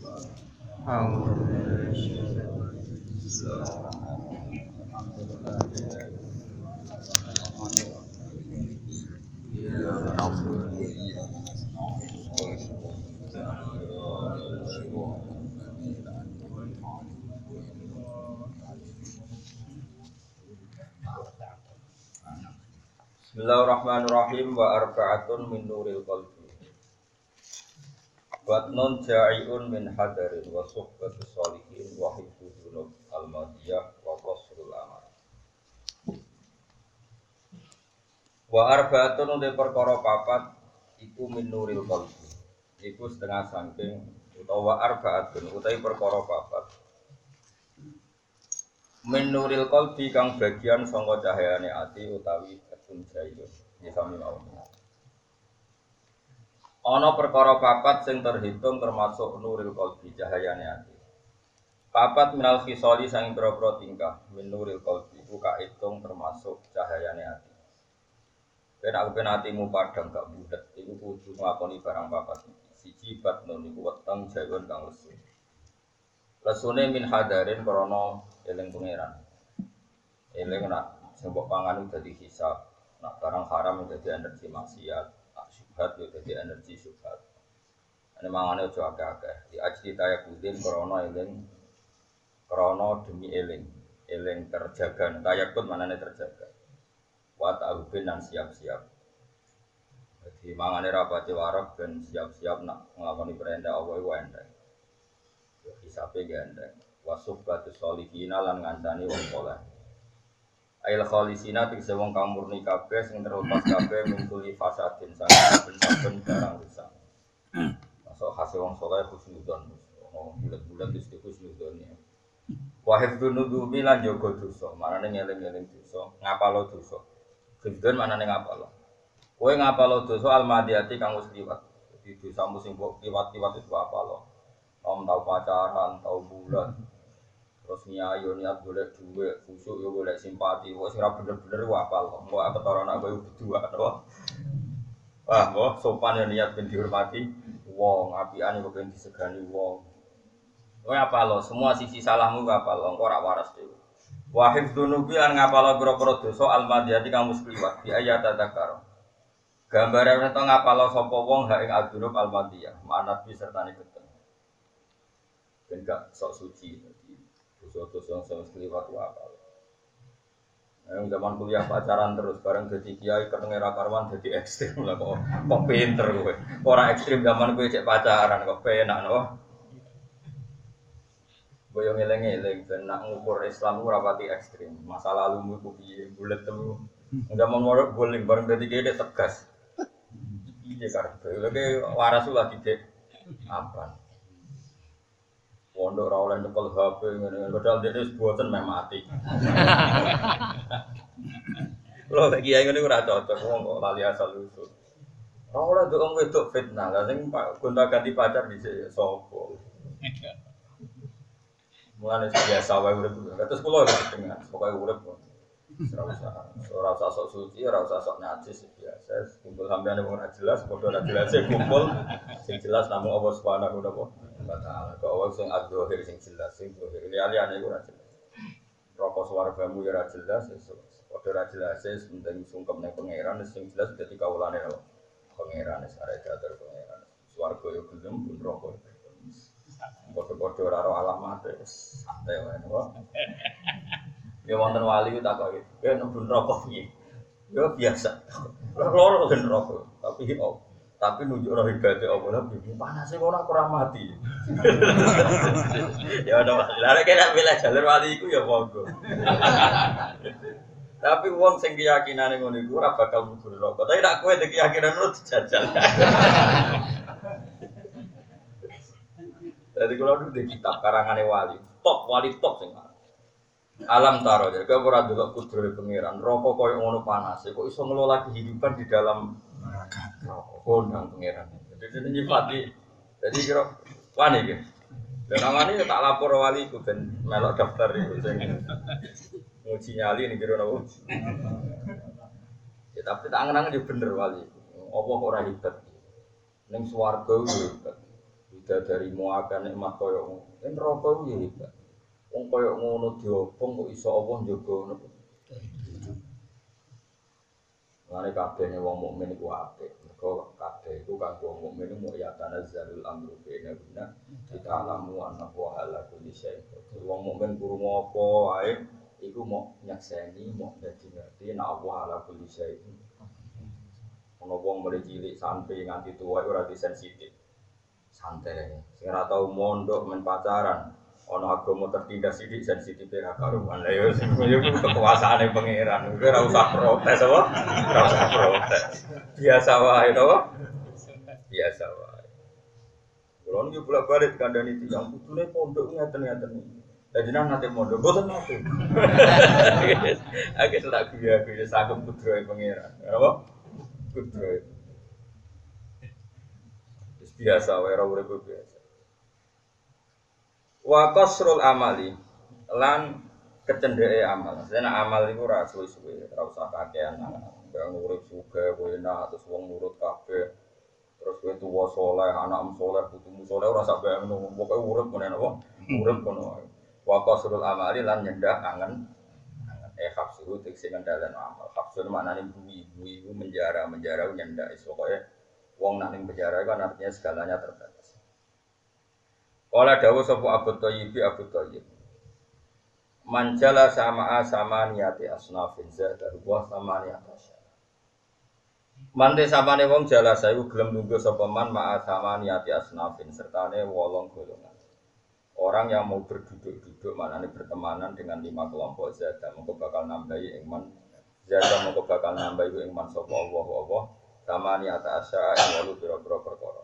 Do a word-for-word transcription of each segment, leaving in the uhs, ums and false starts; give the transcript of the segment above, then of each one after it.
Bismillahirrahmanirrahim wa arba'atun min nuril qalbi Watnun ja'iun min hadarin wa suhbatu sholihin wa hibdu dunub al-madiyah wa qasrul amal Wa arba'atun utai perkara papat iku min nuril qalbi iku setengah sangking utawa arba'atun utai perkara papat min nuril qalbi kang bagian sangka cahayane ati utawi ketun jaiyun ya sami mawon. Ana perkara papat sing terhitung termasuk nuril qalbi cahayane ati. Papat minal khisali sing pira-pira tingkah min nuril qalbi iku kaitung termasuk cahayane ati. Ben aku ben atimu padhang gak budet iku kudu nglakoni barang papat iki. Siji batnun iku weteng jaiyun kang lesu. Lesune min hadarin krana eling pangeran. Eling nak sing mbok pangan dadi hisab, nak barang haram dadi energi maksiat, nak syubhat yo dadi energi syubhat. Ane mangane aja akeh-akeh. Di ajdi taya kudin krana eling krana demi eling, eling terjaga. Tayakut manane terjaga. Wa ta'ubin dan siap-siap. Jadi mangane rapati wareg ben siap-siap nak nglakoni perintah Allah iku enteng. Hisabe gandeng wasuf batu solihina lan ngancani wong saleh ail khalisina tegese wong kang murni kabeh sing terlepas kabeh mingkuli fasadin saben-saben barang rusak masuk hasil wong saleh husnudon oh bulat-bulat wis husnudon ya wa hifdzun nudumi lan jaga dosa manane ngeling-eling dosa ngapalo dosa hifdzun manane ngapalo kowe ngapalo dosa almadiyati kang wis liwat dadi dosamu sing mbok liwat-liwat itu apalo om tau pacaran, tau bulan, terus nyayo niat golek duit, khusyuk yo golek simpati, wes ora bener-bener ku apal, kok apa ketara anak kowe berdua to. Wah, kok sopan yo niat ben dihormati wong, apian yo ben disegani wong. Kowe apal lo, semua sisi salahmu ku apal, engko ora waras dhewe. Wa hifdzunubi lan ngapal pira-pira dosa almadiyati kang wis kliwat, di ayat tadzakar. Gambare ento ngapal sapa wong ha ing adzunub almadiyah, manat bi sertane ben gak sok suci jadi dosa-dosa yang sing kliwat wae apa. Yang zaman kuliah pacaran terus bareng dadi kiai ketenge ra karwan dadi ekstrem lah kok kok pinter kowe. Ora ekstrem zaman kowe cek pacaran kok penak no. Boyo ngeleng-eling ben nak ngukur Islam ora pati ekstrem. Masa lalumu iku piye bulet temu. Zaman morok boling bareng dadi kiai tegas. Piye karepe lagi waras lagi dek apa. Pondok ora oleh nyekel H P ngene padahal dene wis boten meh mati. Lho lagi ae ngene ora cocok wong kok lali asal usul. Ora oleh ndok wedok fitnah, lha sing gonta-ganti pacar dhisik ya sapa. Mulane biasa wae urip. Terus kula wis dengar pokoke urip kok. Ora usah ora usah sok suci, ora usah sok najis biasa. Kumpul sampeyan wong ora jelas, padha ora jelas kumpul. Sing jelas namung Allah Subhanahu wa taala. Kok awak sing adzahir sing jelas sing zahir. Liyane iku ora jelas. Rokok swargamu ya ora jelas, padha ora jelas penting sungkem ning pangeran sing jelas dadi kawulane Allah. Pangeran wis arek diatur pangeran. Swarga yo gelem pun rokok. Padha-padha ora ro alamat wis santai wae kok. Ya wonten wali ku takoki, "Ya nembun rokok piye?" Ya biasa. Loro ben rokok, tapi oh, tapi nunjuk roh ibadate apa lha piye panase kok ora kurang mati. Ya ono lare kena bela jalur wali iku ya monggo. Tapi wong sing keyakinane ngono iku ora bakal mlebu neraka. Tapi nek kowe ndek keyakinan lu dijajal. Dadi kula nu ndek kitab karangane wali, top wali top sing alam taro jadi kau ora delok kudrohe pangeran rokok koyo ngono panas kok iso ngelola kehidupan di dalam neraka kondang pangeran jadi ini nyifati jadi kira wani iki dan namane tak lapor wali ku ben melok daftar iku sing nguji nyali ning kira nopo ya tapi tak angen-angen yo bener wali apa kok ora hebat ning swarga yo hebat dari muakan nikmat koyo ngono. Yen neraka ku ya hebat. Wong koyo ngono diobong kok iso Allah njogo ngono. Mane kabeh wong mukmin iku apik. Mergo kabeh iku kanggo wong mukmin mu ya tanazzalul amru baina guna kita alamu annahu ala kulli syai'in. Wong mukmin krungu apa wae iku mau nyakseni, mau dadi ngerti nek Allah ala kulli syai'in. Ono wong mulai cilik sampai nganti tua ora disensitif. Santai. Sing ora tau mondok men pacaran, ono agama tertindas iki sensitif ra karuan. Lah yo sing yo kekuasaane pangeran. Kowe ora usah protes apa? Ora usah protes. Biasa wae to. Biasa wae. Kulo niku bolak-balik kandhani tiyang kudune pondok ngeten-ngeten. Dadi nang nate mondok boten nate. Aku tak guya-guya sagem putra pangeran. Apa? Kudroy. Biasa wae ora urip biasa. Wa qasrul amali lan kecendheke amal. Sene amal iku ora suwe-suwe, ora usah kakean. Wong urip sugih kowe enak terus wong nurut kabeh. Terus kowe tuwa saleh, anakmu saleh, putumu saleh ora sak bae ngono. Pokoke urip ngene apa? Urip ngono wae. Wa qasrul amali lan nyendak angen eh hafsu tekse ngendalan amal. Hafsu maknane bui, bui itu menjara, menjara nyendak iso koyo wong nak ning penjara kan artinya segalanya terbatas. Kala dawuh sapa Abu Thayyib Abu Thayyib. Manjala sama sama niati asnafin zada wa sama niati asya. Mante samane wong jala sayu gelem lungguh sapa man ma sama niati asnafin sertane wolong golongan. Orang yang mau berduduk-duduk maknanya bertemanan dengan lima kelompok zada mengko bakal nambahi iman zada mengko bakal nambahi iman sapa Allah Allah sama ni ata asya yang walu biro-biro perkara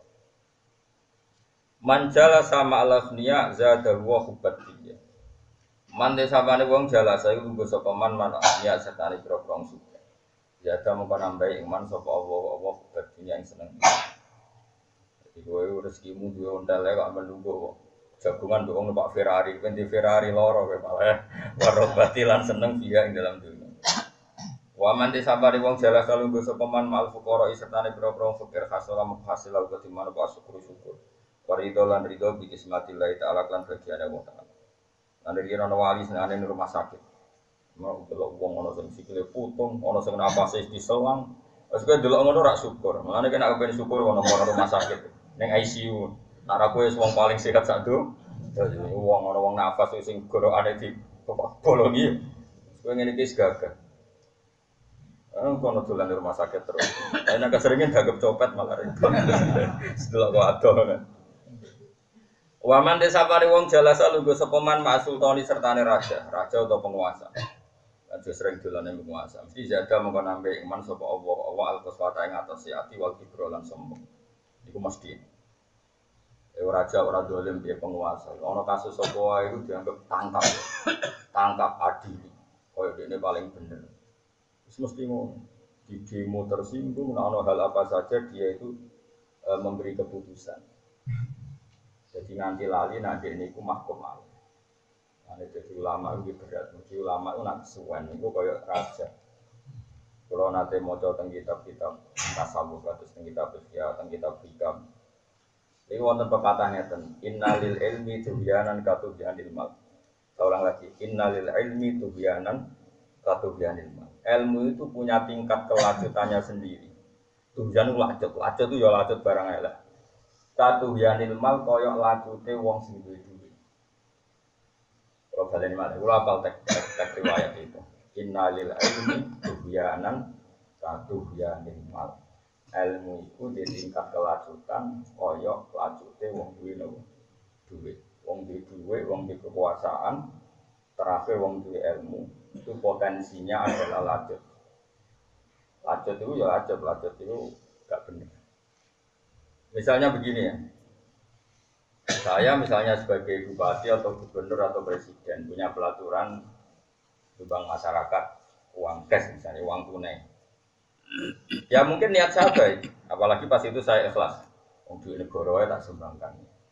manjala sama al-aghniya zada huwa hubbat dia mande samane wong jala sayu lungguh sapa man man ya setane biro-biro suka zada mengko nambahi iman sapa Allah Allah hubbat dia yang seneng jadi kowe rezekimu duwe ontel kok menunggu kok jagungan untuk numpak Ferrari, ganti Ferrari loro kowe malah warok batilan seneng dia ing dalam dunia. Wa man disabari wong jala salunggo sapa man mal fuqara sertane pira-pira fakir hasil hasil lalu ketimana pak syukur syukur. Warido lan rido bi kismatillah taala lan bagiane wong taala. Lan iki ana wali senane ning rumah sakit. Mau delok wong ana sing sikile putung, ana sing napase diselang. Wes kowe delok ngono rak syukur. Mulane kena kepen syukur ana rumah sakit ning I C U. Nara kowe wong paling sehat sak do. Dadi wong ana wong nafas sing gorokane di bolongi. Kowe ngene iki gagah. Ana kono dolan di rumah sakit terus. Ana keseringan gagap copet malah repot. Setelah kok ado. Waman desa pare wong jalasa lungguh sapa man masultani sertane raja, raja atau penguasa. Aja sering dolane penguasa. Mesti jaga mengko nambe iman sapa Allah, Allah al-qaswata ing atas ati wal kibro lan sombong. Iku mesti Eh raja ora dolim dia penguasa. Ono kasus sapa wae iku dianggap tangkap. Tangkap adil. Koyo dene paling bener. Wis mesti ngono. Di demo tersinggung ono hal apa saja dia itu e, memberi keputusan. Jadi nanti lali nanti niku mahkum al. Ane dadi ulama iki berat. Mesti ulama itu nak suwen niku koyo raja. Kalau nate maca teng kitab-kitab tasawuf kados teng kitab fikih, teng kitab hikam. Ini wonten pepatah ngeten, innalil ilmi tubyanan katubyanil mal. Saya ulang lagi, innalil ilmi tubyanan katubyanil mal. Ilmu itu punya tingkat kelanjutannya sendiri. Tubyan itu lanjut, lanjut itu ya lanjut barang elek. Katubyanil mal koyok lanjute wong sing duwe-duwe. Kalau baleni malih, kula apal tek tek riwayat itu. Innalil ilmi tubyanan katubyanil mal. Ilmu itu di tingkat kelanjutan koyok lanjute wong duwe nopo duwe wong duwe duwe wong duwe kekuasaan terakhir wong duwe ilmu itu potensinya adalah lanjut lanjut itu ya lanjut lanjut itu gak benar. Misalnya begini ya, saya misalnya sebagai bupati atau gubernur atau presiden punya pelaturan bank masyarakat uang cash misalnya uang tunai. Ya mungkin niat saya baik, apalagi pas itu saya ikhlas. Untuk negara tak sumbangkan.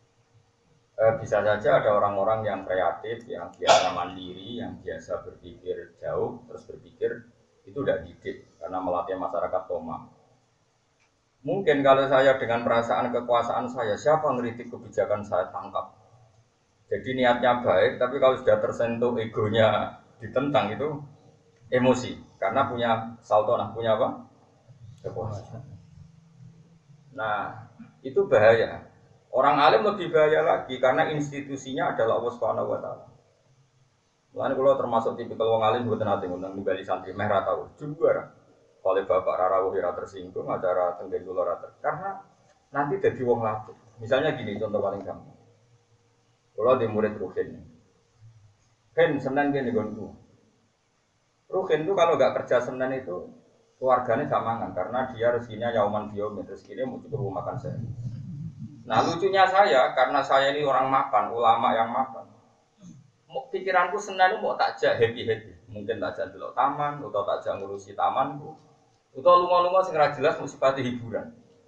E, bisa saja ada orang-orang yang kreatif, yang biasa mandiri, yang biasa berpikir jauh, terus berpikir itu udah didik karena melatih masyarakat toma. Mungkin kalau saya dengan perasaan kekuasaan saya, siapa ngeritik kebijakan saya tangkap. Jadi niatnya baik, tapi kalau sudah tersentuh egonya ditentang itu emosi. Karena punya saltonah, punya apa? Kekuasaan. Nah, itu bahaya. Orang alim lebih bahaya lagi karena institusinya adalah Allah Subhanahu wa taala. Mulane kula termasuk tipikal wong alim mboten nate ngundang nimbali santri meh ra tau. Juara. Oleh Bapak Rarawuh ora tersinggung, acara tenggen kula ra karena nanti jadi wong latih. Misalnya gini contoh paling gampang. Kula di murid Ruhin. Ken Senin gini gonku. Ruhin itu kalau nggak kerja Senin itu keluarganya gak mangan karena dia rezekinya yauman biomet, rezekinya mau cukup makan saya. Nah lucunya saya, karena saya ini orang makan, ulama yang makan. Pikiranku Senin mau takjak happy-happy. Mungkin takjak dulu taman, atau takjak ngurusi tamanku. Atau lunga-lunga sing ra jelas musibati hiburan.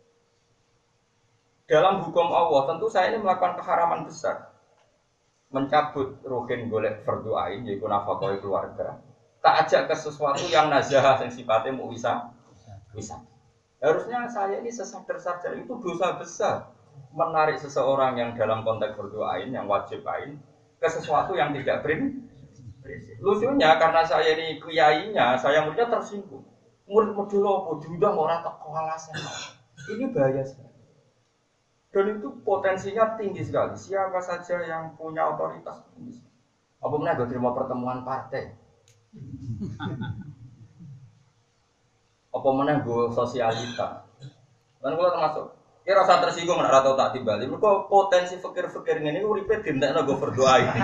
Dalam hukum Allah, tentu saya ini melakukan keharaman besar. Mencabut ruhin golek fardu ain, yaitu nafkah keluarga. Tak ajak ke sesuatu yang nazah, yang sifatnya mau bisa. Bisa. Harusnya saya ini sesadar sadar itu dosa besar. Menarik seseorang yang dalam konteks berdoain, yang wajib ain, ke sesuatu yang tidak prinsip. Lucunya karena saya ini kiainya, saya muridnya tersinggung. Murid modul diundang orang tak kewalasan. Ini bahaya sekali. Dan itu potensinya tinggi sekali. Siapa saja yang punya otoritas tinggi. Apa pernah gue terima pertemuan partai? Apa mana gue sosialita? Dan gue termasuk. Kira rasa tersinggung nek ora tau tak timbali. Mergo potensi fikir-fikir ngene iku uripe dintekno go berdoa iki.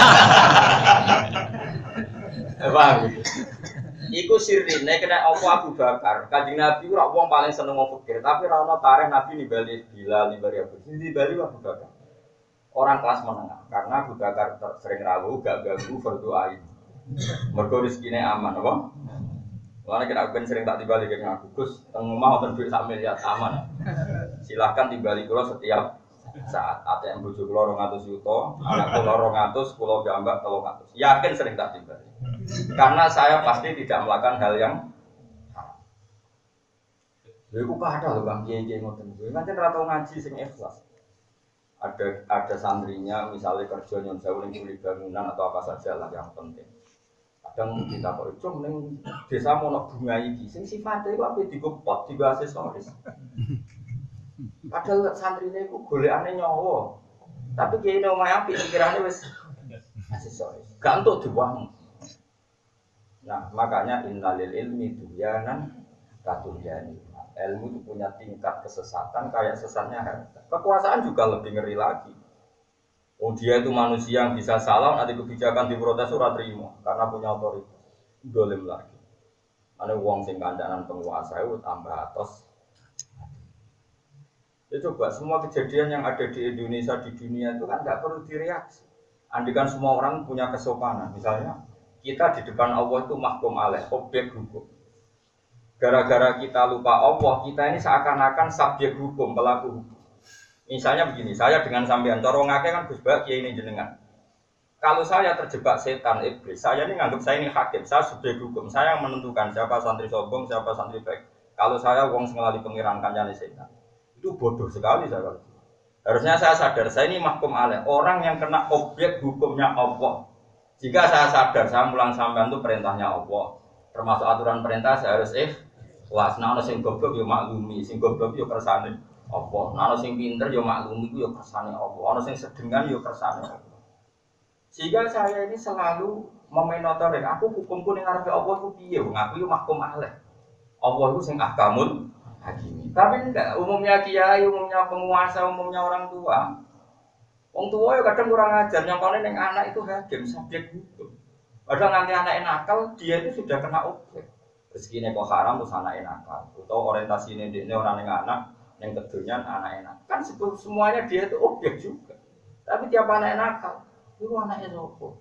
Paham? Iku sirine kena apa Abu Bakar. Kanjeng Nabi ora wong paling seneng wong fikir, tapi ora ono tarikh Nabi nimbali Bilal, nimbali Abu. Nimbali Abu Bakar. Orang kelas menengah karena Abu Bakar sering rawuh gak ganggu berdoa ini. Mergo rezekine aman apa? Karena kita ben sering tak timbali ke ngaku, Gus, teng omah wonten duit sak miliar aman. Silahkan timbali kula setiap saat. A T M bojo kula dua ratus juta, anak kula dua ratus, kula jambak tiga ratus. Yakin sering tak timbali. Karena saya pasti tidak melakukan hal yang haram. Lha iku kada lho Bang kiai-kiai ngoten. Kuwi pancen ora tau ngaji sing ikhlas. Ada ada santrinya misalnya kerja nyon sewu ning bangunan atau apa saja lah yang penting. Kadang kita kok itu ning desa mono bunga iki sing sifate iku ape digopot digo aksesoris. Padahal santrine iku golekane nyawa. Tapi kiai nang omahe apik pikirane wis aksesoris. Gak entuk diwang. Nah, makanya innalil ilmi duyanan katulyani. Ilmu itu punya tingkat kesesatan kayak sesatnya harta. Kekuasaan juga lebih ngeri lagi. Oh dia itu manusia yang bisa salah, nanti kebijakan diprotes ora terima karena punya otoritas. Dolim lagi. Ada uang sing kandanan penguasa itu tambah atas. Ya coba semua kejadian yang ada di Indonesia di dunia itu kan nggak perlu direaksi. Andikan semua orang punya kesopanan, misalnya kita di depan Allah itu mahkum alaih, objek hukum. Gara-gara kita lupa Allah, kita ini seakan-akan subjek hukum, pelaku hukum. Misalnya begini, saya dengan sampean, cara ngake kan Gus Bak kiai ini jenengan. Kalau saya terjebak setan iblis, saya ini nganggap saya ini hakim, saya subjek hukum, saya yang menentukan siapa santri sombong, siapa santri baik. Kalau saya wong sengelali pengiran kancane setan, itu bodoh sekali saya kalau. Harusnya saya sadar, saya ini mahkum alaih, orang yang kena objek hukumnya Allah. Jika saya sadar, saya mulang sampean itu perintahnya Allah, termasuk aturan perintah saya harus ikhlas. Nah, ana sing goblok yo maklumi, sing goblok yo kersane Allah. Nah, ana sing pinter yo maklumi ku yo kersane Allah. Ana sing sedengan yo kersane Allah. Sehingga saya ini selalu memenotori aku hukumku ning ngarepe Allah ku piye? Wong aku yo mahkum alaih. Allah itu sing ahkamul hakim. Tapi enggak, umumnya kiai, umumnya penguasa, umumnya orang tua. Wong tua ya kadang kurang ajar, nyontone ning anak itu hakim, subjek hukum. Padahal nanti anak nakal, dia itu sudah kena objek. Rezekine kok haram terus anak nakal. Atau orientasine ndekne ora ning anak, ning kedonyan anak enak. Kan semuanya dia itu objek juga. Tapi tiap anak nakal, itu anaknya sopo?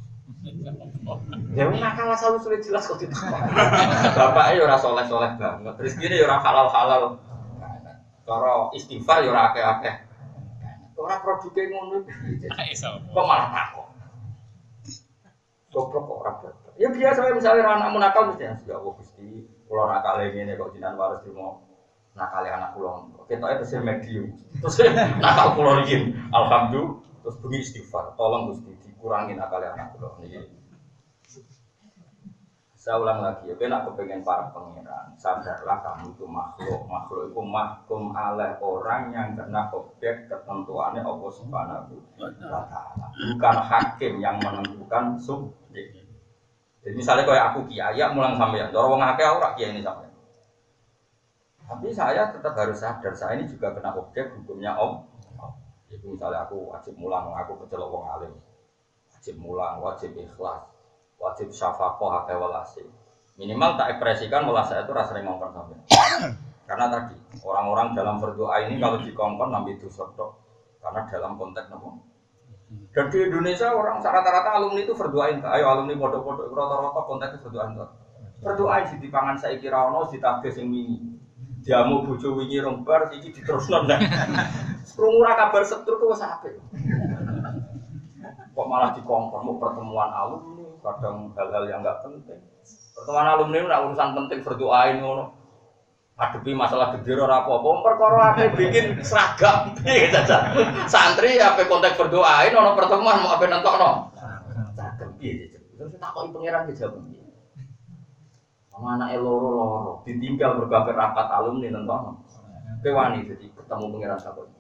Ya wong nakal asal sulit jelas kok ditakon. Bapake ya ora saleh-saleh banget. Rezekine ya ora halal-halal. Cara istighfar ya ora akeh-akeh. Ora produke ngono iki. Kok malah takon. Goblok kok ora bener. Ya biasa misalnya anakmu nakal mesti ya Allah Gusti, kula nakal ngene kok jinan waris trimo nakal anak kula. Ketoke tesih medium. Terus nakal kula riyin. Alhamdulillah terus bengi istighfar. Tolong Gusti dikurangi nakal anak kula niki. Saya ulang lagi, ya, nak kepengen para pangeran, sadarlah kamu itu makhluk, makhluk itu mahkum oleh orang yang kena objek ketentuannya Allah Subhanahu wa Ta'ala. Bukan hakim yang menentukan subjek. Jadi misalnya kayak aku kiai, ya mulang sampean, cara wong akeh ora kiai ini sampean. Tapi saya tetap harus sadar, saya ini juga kena objek hukumnya Allah. Itu misalnya aku wajib mulang, aku kecelok wong alim, wajib mulang, wajib ikhlas. Wajib syafaqah akeh welase. Minimal tak ekspresikan welas saya itu rasa ngongkon sampai. Karena tadi orang-orang dalam berdoa ini kalau dikongkon nampi dosa tok. Karena dalam konteks nopo. Dan di Indonesia orang rata-rata alumni itu berdoain, ayo alumni pondok-pondok rata-rata konteksnya berdoain tok. Berdoain di dipangan saiki ra ono ditagih sing wingi. Jamu bojo wingi rombar iki diterusno nek. Krungu ra kabar setur ku wis apik. Kok malah dikongkon mau pertemuan alumni, kadang hal-hal yang enggak penting. Pertemuan alumni itu urusan penting berdoain ngono. Ngadepi masalah gede ora apa-apa, perkara ape bikin seragam. Piye caca. Santri ape konteks berdoain ono pertemuan mau ape nentokno. Seragam piye caca. Terus takoki pangeran ki jawab piye. Ana anake loro-loro ditinggal berbagai rapat alumni nentokno. Kowe wani dadi ketemu pangeran takon.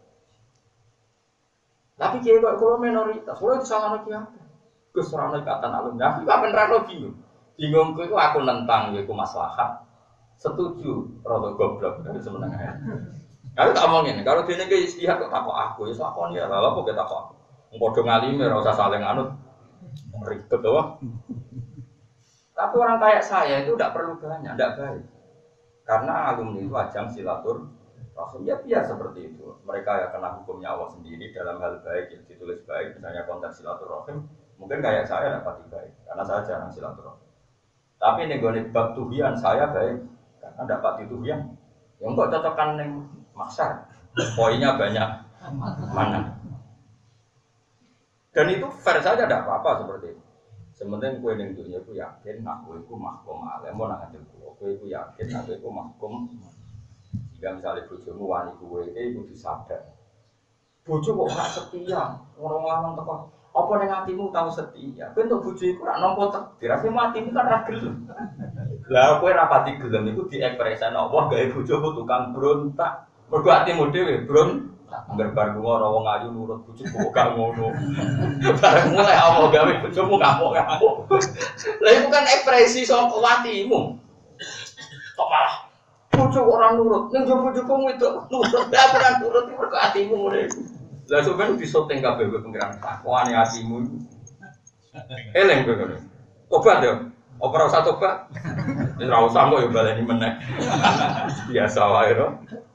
Tapi kiai kok kalau minoritas, kalau itu salah lagi apa? Keserangan ikatan alumni, aku gak bener lo bingung. Bingungku itu aku nentang, yaitu maslahat. Setuju, rodo goblok dari sebenarnya. Kalau tak omongin, kalau dia nih istihad kok takut aku, ya takut ya, lalu kok kita takut. Ngkodong ngalim, ya usah saling anut, ribet doang. Tapi orang kayak saya itu tidak perlu banyak, tidak baik. Karena alumni itu ajang silatur. Ya biar seperti itu. Mereka ya kena hukumnya Allah sendiri dalam hal baik yang ditulis baik, misalnya konteks silaturahim. Mungkin kayak saya dapat baik, karena saya jarang silaturahim. Tapi nih gue bab tuhian saya baik, karena dapat tuhian. Yang kok cocokkan neng maksar, poinnya banyak mana. Dan itu fair saja, tidak apa-apa seperti itu. Sementara kue neng dunia aku yakin, aku itu mahkum alim, mau nangatin kue itu yakin, aku itu mahkum. Jika misalnya bojomu wani kuwe iki kudu sadar. Bojo kok ora setia, orang lanang teko. Apa ning atimu tau setia? Kowe entuk bojo iku ora nampa takdir, ati matimu kan ra gelem. Lah kowe ra pati gelem iku diekspresen Allah gawe bojomu tukang brontak. Mergo atimu dhewe brontak. Angger bar lunga ora wong ayu nurut bojoku kok gak ngono. Bareng mulai Allah gawe bojomu ngamuk-ngamuk. Lah iku kan ekspresi saka atimu. Kok malah bojo orang nurut, ning jowo bojomu itu nurut, ora ora nurut iki mergo atimu ngene. Lah sampeyan disoteng kabeh kowe pengiran takwane atimu. Eleng kowe ngono. Tobat yo. Apa ora usah tobat? Wis ora usah kok yo baleni meneh. Biasa wae lho.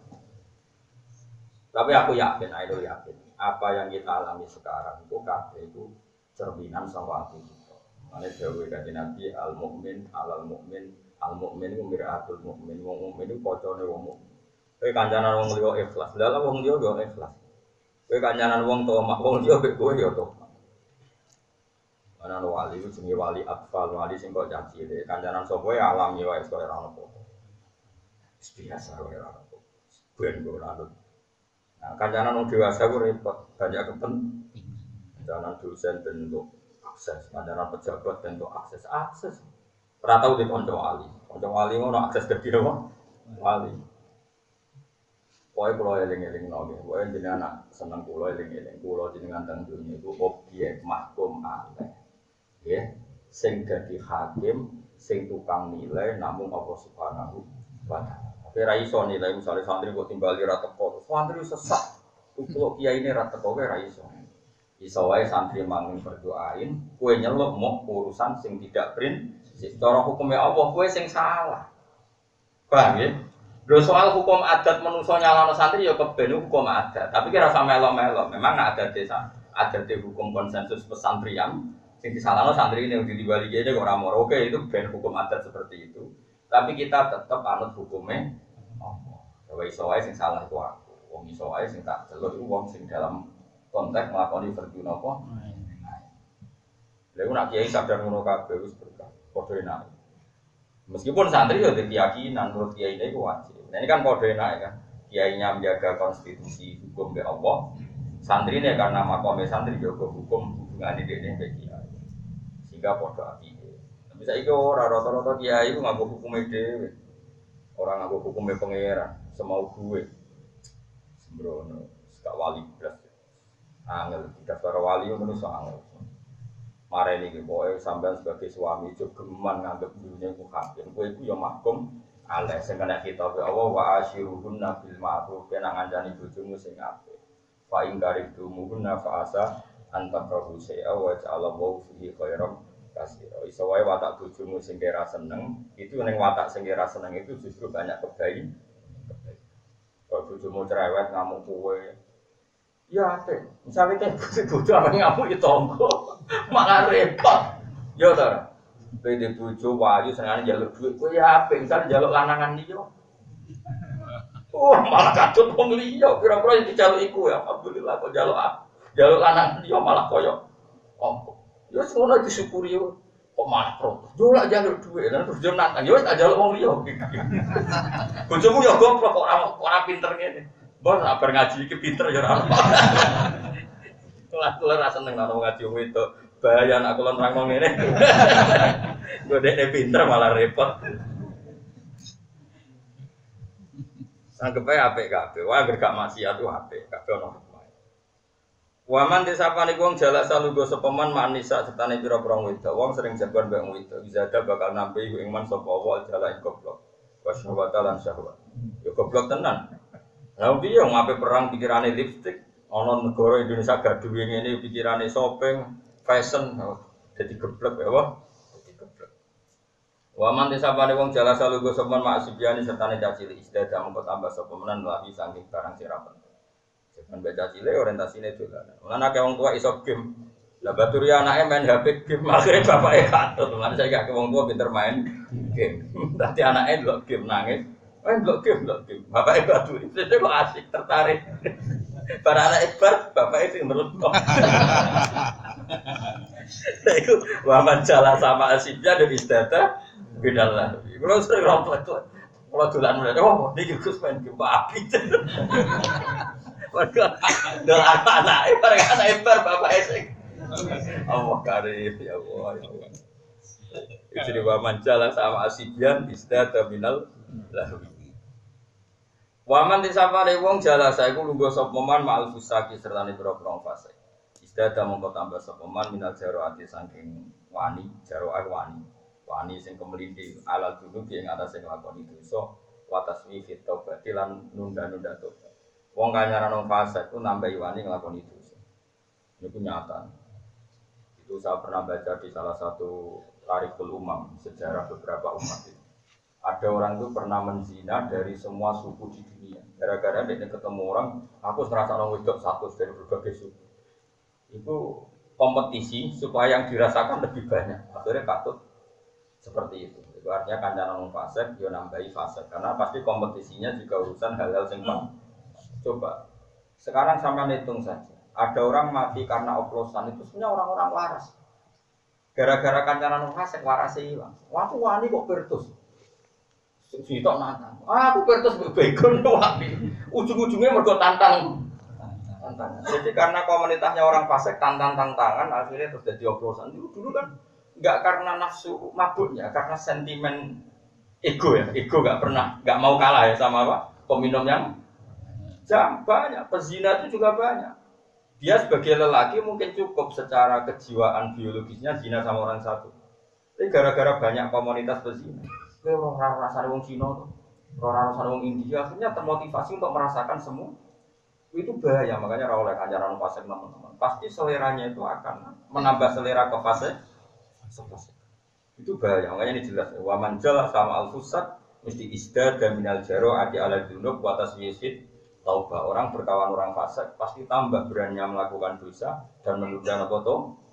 Tapi aku yakin, aku yakin apa yang kita alami sekarang itu kabeh itu cerminan saka ati kita. Mane dawuh Kanjeng Nabi al-mukmin alal mukmin al-mukmin iku miraatul mukmin, wong mukmin iku kacane wong mukmin. Kowe kancanan wong liya ikhlas, lha wong liya yo ikhlas. Kowe kancanan wong tomak, wong liya mek kowe yo tomak. Ana wali iku jenenge wali atfal, wali sing kok caci cilik. Kancanan sapa wae alam ya wis kaya ora ono. Biasa wae ora ono. Ben ora ono. Nah, kancanan wong dewasa ku repot, banyak kepentingan. Kancanan dosen bentuk akses, kancanan pejabat bentuk akses, akses. Ora tau di kanca wali. Kanca wali ngono akses dadi apa? Wali. Pokoke kula eling-elingno nggih. Pokoke jenengan seneng kula eling-eling. Kula jenengan teng dunya iku objek mahkum alaih. Nggih. Sing dadi hakim, sing tukang nilai namung Allah Subhanahu wa taala. Tapi ra iso nilai misale santri kok timbali ra teko. Santri sesat. Kok kiyaine ra teko wae ra iso. Iso wae santri manging berdoain, kowe nyeluk mau urusan sing tidak prin cara hukumnya Allah, kowe sing salah. Paham ya? Lho soal hukum adat manusa nyalano santri ya keben hukum adat. Tapi kira sama melo-melo, memang ada desa, ada hukum konsensus pesantrian sing disalahno santri ini di dibalik aja ora moro. Oke, itu ben hukum adat seperti itu. Tapi kita tetap anut hukumnya Allah. Kowe iso wae sing salah itu aku. Wong iso wae sing tak celuk iku wong sing dalam konteks nglakoni verdhu napa? Lha nek kiai sadar ngono kabeh wis berkah. Padha enak. Meskipun santri ya ada keyakinan menurut kiai ini wajib. Nah ini kan kode enak ya kan. Kiainya menjaga konstitusi hukum ke Allah. Santri ini karena makomnya santri jaga hukum hubungan ini dengan kiai. Sehingga kode api. Tapi saya itu orang rata-rata kiai itu ngaku hukumnya dewe. Orang ngaku hukumnya pangeran. Semau gue. Sembrono. Sekak wali belas. Angel. Tidak para wali itu menurut angel. Mare ini boy sampean sebagai suami juga geman nganggep dunia itu hakim. Kowe iku ya mahkum alaih sing kena kitab Allah wa asyiruhunna bil ma'ruf kena ngancani bojomu sing apik. Fa in karihtumunna fa asa antakrahu syai'a wa ja'alallahu fihi khairan katsira. Iso wae watak bojomu sing kira seneng, itu ning watak sing kira seneng itu justru banyak kebaikan. Kalau bojomu cerewet ngamuk kowe ya, teh. Misalnya teh bojo apa ngamuk itu tonggo, malah repot. Yo tar, pede bojo wayu senengane njaluk duit, kowe ya apik. Misalnya njaluk lanangan liya. Oh, malah kadut wong liya, kira-kira iki dijaluk iku ya. Alhamdulillah kok njaluk ah. Njaluk lanangan liya malah koyo opo. Yo wis ngono disyukuri yo. Kok malah protes. Yo lak njaluk duit, lan terus yo nantang. Yo wis tak njaluk wong liya. Bojomu yo goblok kok ora ora pinter ngene. Bos apa ngaji iki pinter ya ora. Kelas kelas seneng nang ngaji wong itu. Bahaya nek kula nerangno ngene. Godene pinter malah repot. Sanggepe apik kabeh. Wah anggere gak maksiat ku apik. Kabeh ono hikmah. Waman disapane wong jala salugo sepeman manisa setane pira-pira wedok. Wong sering jagoan mbek wedok. Bisa ada bakal nampi ing man sapa wa jala ing goblok. Wasyawata lan syahwat. Ya goblok tenan. Lah piye wong ape perang pikirane lipstik, ana negara Indonesia gaduh ngene pikirane shopping, fashion, dadi geblek ya wae. Dadi geblek. Wa man disapane wong jala salugo semen maksibiani sertane cacili istiadah mengko tambah sapa menan lagi saking barang sira penting. Semen baca cile orientasine dolanan. Lan akeh wong tua iso game. Lah baturi anake main H P game, akhire bapake katut. Lan saiki akeh wong tua pinter main game. Dadi anake ndelok game nangis. Eh blok game, blok game. Bapak ibu aduh, itu kok asik, tertarik. Para anak ibar, bapak itu menurut kok. Nah itu, waman jala sama asibnya dan istata, beda lah. Kalau sering rompet tuh, kalau dolan mulai, oh ini gus main game api. Mereka, dolan anak ibar, anak ibar, bapak esek. Allah karim, ya Allah, ya Allah. Jadi waman jala sama asibnya, istata minal lahwi. Waman disapane wong jalasa iku lungguh sapa man ma'al fusaki sertane pira-pira fase. Istada mongko tambah sapa man minal jaroati saking wani, jaroah wani. Wani sing kemelinti alal dulu ing atase nglakoni dosa wa tasmi fit taubati lan nunda-nunda tobat. Wong kanyaran wong fase ku nambahi wani nglakoni dosa. Niku nyata. Itu saya pernah baca di salah satu Tarikhul Umam, sejarah beberapa umat itu. Ada orang itu pernah menzina dari semua suku di dunia. Gara-gara dia ketemu orang, aku serasa orang wedok satu dari berbagai suku. Itu kompetisi supaya yang dirasakan lebih banyak. Akhirnya katut seperti itu. Itu artinya kancanan orang fasik, dia nambahi fasik. Karena pasti kompetisinya juga urusan hal-hal singkong. Coba, sekarang sampai hitung saja. Ada orang mati karena oplosan itu sebenarnya orang-orang waras. Gara-gara kancanan orang fasik warasnya hilang. Waktu wani kok bertus. Sitok nantang. Ah, aku kertas bebegon wapi. Ujung-ujungnya mergo tantang. Tantang. Jadi karena komunitasnya orang fasik tantang-tantangan akhirnya terus jadi oplosan. Dulu dulu kan enggak karena nafsu mabuknya, karena sentimen ego ya. Ego enggak pernah enggak mau kalah ya sama apa? Peminum yang jam banyak, pezina itu juga banyak. Dia sebagai lelaki mungkin cukup secara kejiwaan biologisnya zina sama orang satu. Tapi gara-gara banyak komunitas pezina. Orang rasanya wong Cina tuh, orang rasanya wong India, akhirnya termotivasi untuk merasakan semua. Itu bahaya, makanya rawol kancaran fasik teman-teman. Pasti seleranya itu akan menambah selera ke fase. Itu bahaya, makanya ini jelas. Waman jala sama al-fusat mesti isdad dan minal jaro adi ala junub watas wisid taubah. Orang berkawan orang fasik pasti tambah berani melakukan dosa dan menunda nakoto.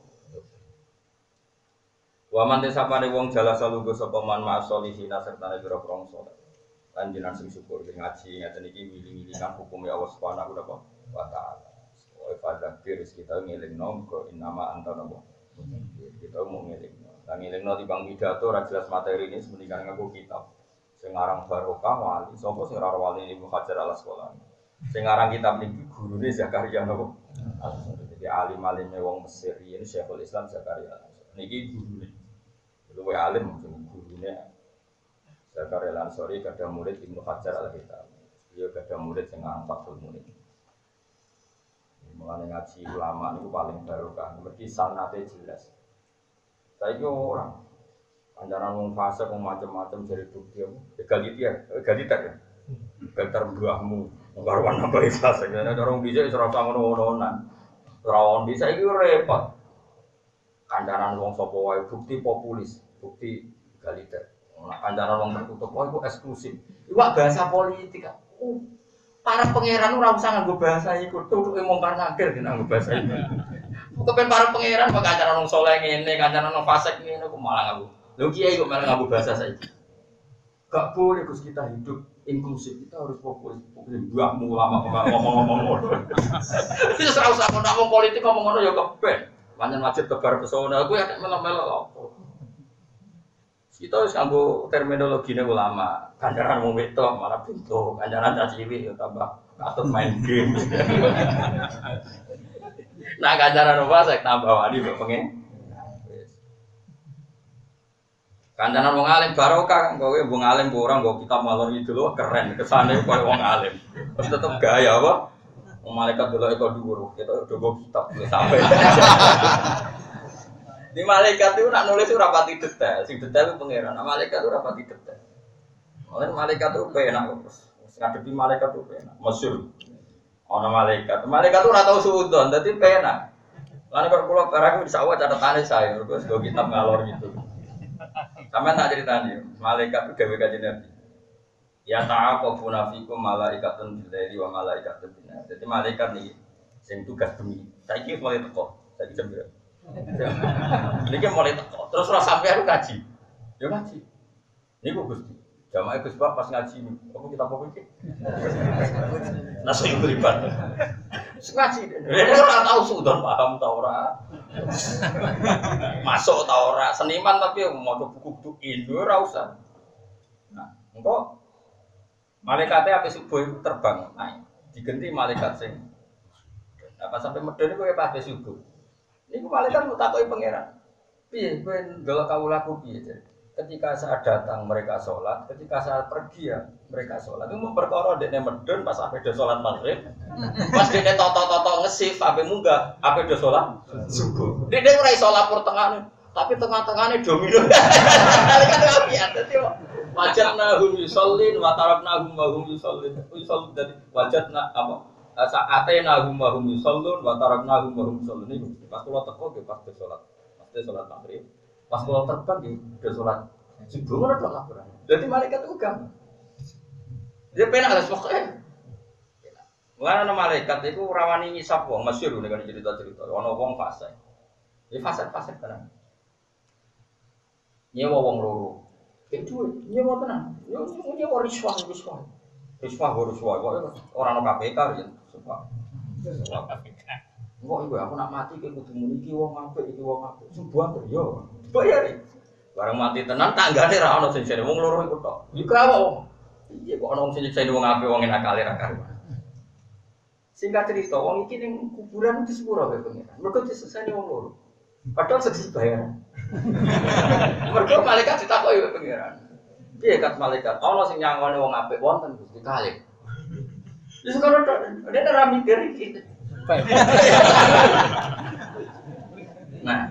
Waman desapane wong jala salungguh sapa man ma'asolihin sertane pira-pira saleh. Lan jenengan sing syukur ngaji ngaten iki wiling-wilingan hukum ya Allah Subhanahu wa taala. Wa fadzakir kita ngelingno kok innama anta nabi Kita mau ngiling. Nah ngiling nanti bang pidato, ora jelas materi ini sementingan ngaku kitab. Sengarang barokah wali, sopo sengarang wali ini Hajar al Asqalani. Sengarang kitab ini guru ini Zakaria nopo. Jadi alim alimnya wong Mesir ini Syekhul Islam Zakaria. Niki guru ini, luwe alim mungkin gurunya Zakaria Al-Ansori kada murid Ibnu Hajar al-Hitam. Dia kada murid sengarang Fathul Murid. Mulane ngaji ulama niku paling barokah, mergi sanate jelas. Saiki orang anjaran wong fase wong macam-macam dari bukti apa? Egaliter, egaliter ya. Egaliter mbahmu, karo nambah fase. Nek orang bisa ora usah ngono-ngononan. Ora on bisa iki repot. Kandaran wong sapa wae bukti populis, bukti egaliter. Nah, kandaran wong tertutup wae iku eksklusif. Iku bahasa politik. Uh. Para pangeran ora usah nganggo bahasa iku, tutuke mungkar nakir dene nganggo bahasa iku. Kepen para pangeran kok kancaran wong saleh ngene, kancaran wong fasik ngene kok malah nganggo. Lho kiai kok malah nganggo bahasa saiki. Gak boleh Gus kita hidup inklusif, kita harus fokus. Fokus mbahmu ulama ngomong-ngomong ngono. Wis ora usah ngomong politik ngomong ngono ya kepen. Pancen wajib tebar pesona kuwi ada melo-melo apa. Kita harus nganggo terminologine ulama. Kancaran wong wedok malah pintu, kancaran caciwi ya tambah katut main game. Nah kancaran apa saya tambah wali kok pengen. Kancaran wong alim barokah, kowe wong alim kok ora nggo kita malor itu lho keren, kesane koyo wong alim. Terus tetep gaya apa? Wong malaikat deloke kok dhuwur, kita dogo kitab sampai. Di malaikat itu nak nulis ora pati detail, sing detail itu pangeran. Nah, malaikat itu ora pati detail. Oleh malaikat itu penak terus. Ngadepi malaikat itu penak. Masyhur. Ana malaikat. Malaikat itu ora tau suudon, dadi penak. Lan kok kula barang wis awak catetane saya, terus go kitab ngalor gitu. Sampeyan tak critani, malaikat itu gawe kanjeng Nabi. Ya ta'aqabuna fikum malaikatun bil-laili wa malaikatun bin-nahar. Dadi malaikat niki sing tugas bengi. Saiki mulai teko, saiki jam berapa? Niki mulai teko. Terus ora sampe aku ngaji. Ya ngaji. Niku Gusti. Jamaah Gus Pak pas ngaji apa kita apa iki? Nasi beribat. Ngaji. Dene ora tau sudan paham ta ora. Masuk ta ora seniman tapi maca buku-buku Indo ora usah. Nah, engko malaikate ape subuh iku terbang naik. Digenti malaikat sing apa sampai medeni kowe pas subuh. Niku malaikat mau takoki pangeran. Piye kowe ndelok kawulaku piye jare? Ketika saat datang mereka sholat, ketika saat pergi ya mereka sholat. Itu mau perkara dekne medun pas ape do sholat maghrib. Pas dekne toto-toto ngesif ape munggah, ape do sholat subuh. Dekne ora iso lapor tengahne, tapi tengah-tengahne domino. Malaikat apian dadi wajatna hum yusallin wa tarakna hum wa hum yusallin. Yusall dadi wajatna apa? Saatena hum wa hum yusallun wa tarakna hum wa hum yusallun. Niku pas kula teko ge pas sholat. Pas sholat maghrib. Pas kalau terbang di udah sholat subuh mana dong laporan. Jadi malaikat itu gampang. Dia penak ada pokoknya. Mulai ada malaikat itu rawani ngisap wong masyhur nih kan cerita-cerita. Ono wong fase. Ini fase-fase tenang. Nyewa wong loro. Itu nyewa tenang. Yo nyewa riswah riswah. Riswah riswah. Orang K P K ya. Sumpah. K P K. Kok iku aku nak mati ki kudu muni iki wong apik iki wong apik. Subuh yo. Bayar. Barang mati tenan tanggane ra ono sing jare wong loro iku tok. Iku apa wong? Iya kok ono sing nyeksa wong apik wong enak kali ra karuan. Singkat cerita wong iki ning kuburan di sepuro wae pengiran. Mergo disesani wong loro. Padahal sedih bayar. Mergo malaikat ditakoki wae pengiran. Piye kat malaikat? Ono sing nyangone wong apik wonten Gusti kalih. Wis kono tok. Dene ra mikir iki. Nah,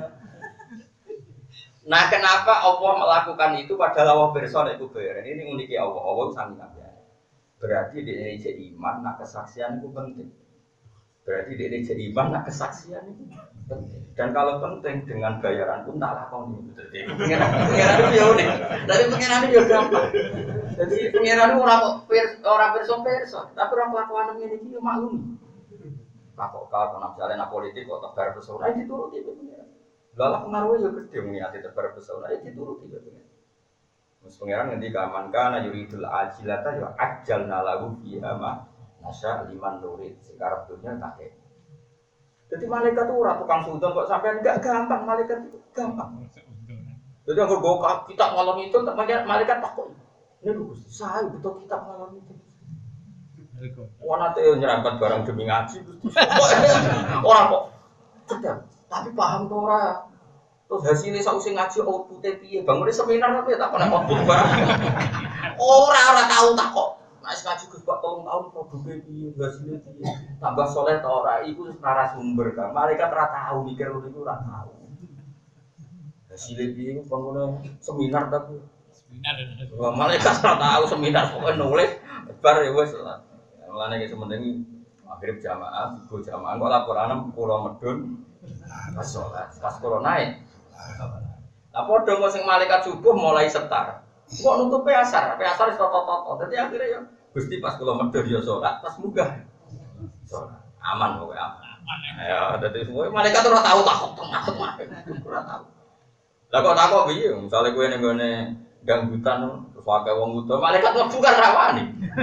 nah kenapa Allah melakukan itu padahal Allah bersama itu bayar? Ini uniknya Allah. Allah sangat nabi. Berarti di Indonesia iman, nak kesaksian itu penting. Berarti di Indonesia iman, nak kesaksian itu penting. Dan kalau penting dengan bayaran pun tak lakon itu. Jadi pengiran itu ya unik. Tapi pengiran itu ya gampang. Jadi pengiran itu orang orang bersom-bersom, tapi orang kelakuan ini itu maklum. Kok kau nak misalnya nak politik kok tebar pesona itu dituruti pengiran. Lalu pengaruhnya juga gede mengingat tebar pesona itu dituruti pengiran. Mus pengiran nanti kaman kana yuridul ajilata ya ajal nalagu fiha ma nasya liman nurid sekarang dunia tak. Jadi malaikat itu ora tukang sudon kok sampean enggak gampang, malaikat itu gampang. Jadi aku bawa kitab malam itu, malaikat takut. Ini lho Gusti, saya betul kitab malam itu. Wah nanti nyerangkat barang demi ngaji Gusti. Orang kok cerdas, tapi paham tuh ora. Terus hasilnya sausi ngaji outputnya piye? Bangunnya seminar tapi tak pernah output barang. Ora ora tahu tak kok. Nek ngaji Gus kok tolong tahun produknya piye, hasilnya piye. Tambah soleh ta ora, iku narasumber kan. Malaikat ora tahu mikir ngono iku ora tahu. Hasilnya piye iku bangunnya seminar tapi seminar. Wah, malaikat ora tahu seminar pokoke nulis bar ya wis lah. Mulane iki sementing maghrib jamaah, subuh jamaah kok laporan kula medun pas salat, pas kula naik. Lah padha kok sing malaikat subuh mulai setar. Kok nutupe asar, pe asar wis toto-toto. Dadi akhire ya Gusti pas kula medhur ya salat, pas munggah. Salat. Aman kok aman. Ya dadi semua malaikat ora tau takut takut ora tau. Lah kok takok piye? Misale kowe ning gone ganggutan terus wae wong buta, malaikat mlebu kan rawani.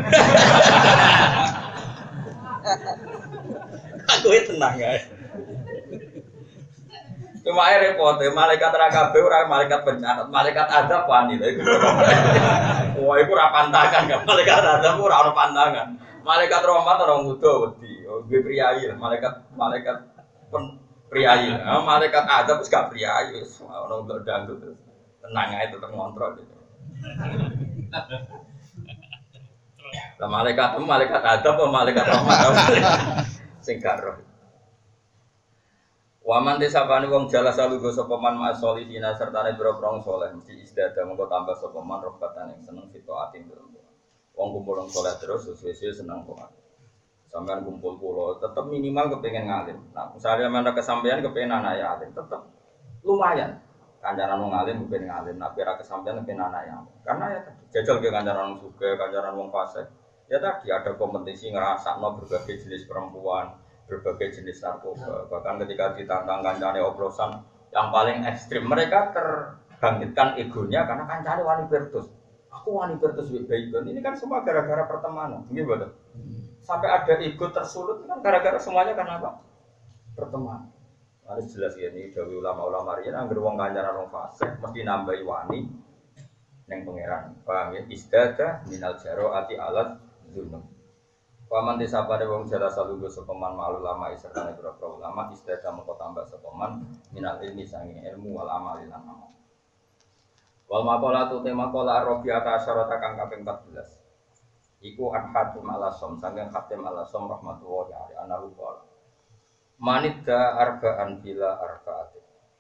Aku tenang ae. Cuma ae repot, malaikat ra kabeh ora malaikat pencatat, malaikat adab wani lha iku. Wah, iku ora pantangan kan, malaikat adab ora ono pantangan. Malaikat rahmat ora ngudo wedi, nggih priyayi lah, malaikat malaikat pen priyayi. Nah, malaikat adab wis gak priyayi, wis ono ndok dangdut terus. Tenang ae tetep ngontrol gitu. Lah malaikat malaikat adab apa malaikat rahmat sing gak roh. Waman desapane wong jala salugo sapa man masolihina sertane boro-boro saleh mesti isdada mengko tambah sapa man rohbatan yang seneng fitoatin terus. Wong kumpul wong saleh terus suwe-suwe seneng kok. Sampeyan kumpul kula tetep minimal kepengin ngalim. Nah, misalnya mana kesampaian kepengin anak ya alim tetep lumayan. Kancaran wong alim kepengin ngalim, nek ora kesampaian kepengin anak ya. Karena ya jajal ke kancaran wong sugih, kancaran wong fasik. Ya tadi ada kompetisi ngrasakno berbagai jenis perempuan, berbagai jenis narkoba. Bahkan ketika ditantang kancane oplosan yang paling ekstrim, mereka terbangkitkan egonya karena kancane wani bertus. Aku wani bertus baik-baik. Ini kan semua gara-gara pertemanan. Nggih, betul. Sampai ada ego tersulut kan gara-gara semuanya karena apa? Pertemanan. Harus jelas ya ini dari ulama-ulama riyen anggere wong kancaran wong fasik mesti nambahi wani ning pangeran. Paham ya? Istada minal jaroati alat dunum. Paman desa pada wong jala salugo sepeman malu lama isertane boro-boro ulama istada mengko tambah sepeman minal ilmi sangi ilmu wal amal lan amal. Wal maqalatu tema qala ar-rabi'ata asyarata kang kaping empat belas. Iku an-hatim al-asom sangen hatim al-asom rahmatullahi alaihi anahu qala. Manidda arba'an bila arba'atin.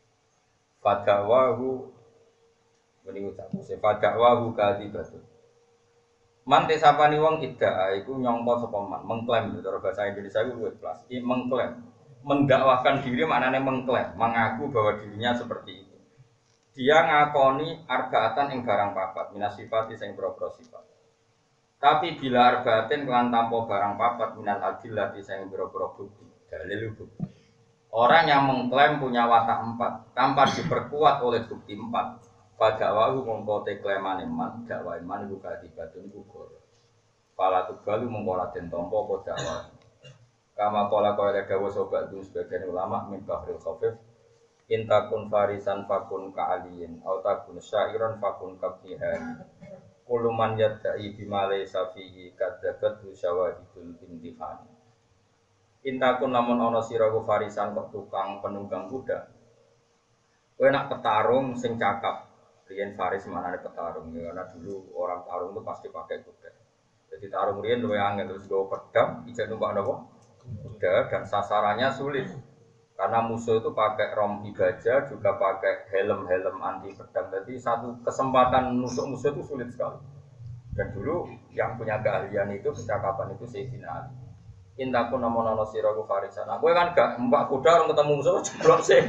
Fadawahu meni ucap fadawahu kadibatu. Man tesapani wong iddaa iku nyangka sapa man, mengklaim cara bahasa Indonesia iku luwih plus. I mengklaim, mendakwahkan diri maknane mengklaim, mengaku bahwa dirinya seperti itu. Dia ngakoni arbaatan ing barang papat, minas sifati sing boro-boro sifat. Tapi bila arbaatin kelan tanpa barang papat minal adillati sing boro-boro bukti, dalil bukti. Orang yang mengklaim punya watak empat tanpa diperkuat oleh bukti empat. Fadawahu mongko te klaimane man dakwa iman iku kadibatun gugur. Pala tugalu mongko raden tampa apa dakwa. Kama kala kaya dawuh sobat dun sebagian ulama min bahril khafif intakun farisan fakun ka'aliyin au takun syairan fakun kabdihan. Kuluman yadda'i bimale safihi kadzabat syawahidul imtihan. Intakun lamun ana sira ku farisan kok tukang penunggang kuda. Kowe nak petarung sing cakap riyen faris manane petarung ya, karena dulu orang tarung itu pasti pakai kuda. Jadi tarung riyen luwih angel terus go pedang, ijen numpak napa? Kuda dan sasarannya sulit. Karena musuh itu pakai rompi gajah juga pakai helm-helm anti pedang. Jadi satu kesempatan nusuk musuh itu sulit sekali. Dan dulu yang punya keahlian itu percakapan itu Sayyidina Ali. Intaku namono sira ku farisan. Aku kan gak mbak kuda orang ketemu musuh jeblok sih.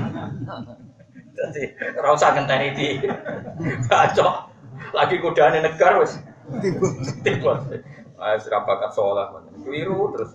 Jadi ora usah ngenteni di bacok. Lagi kudane negar wis tiba. Ah sira bakat saleh men. Keliru terus.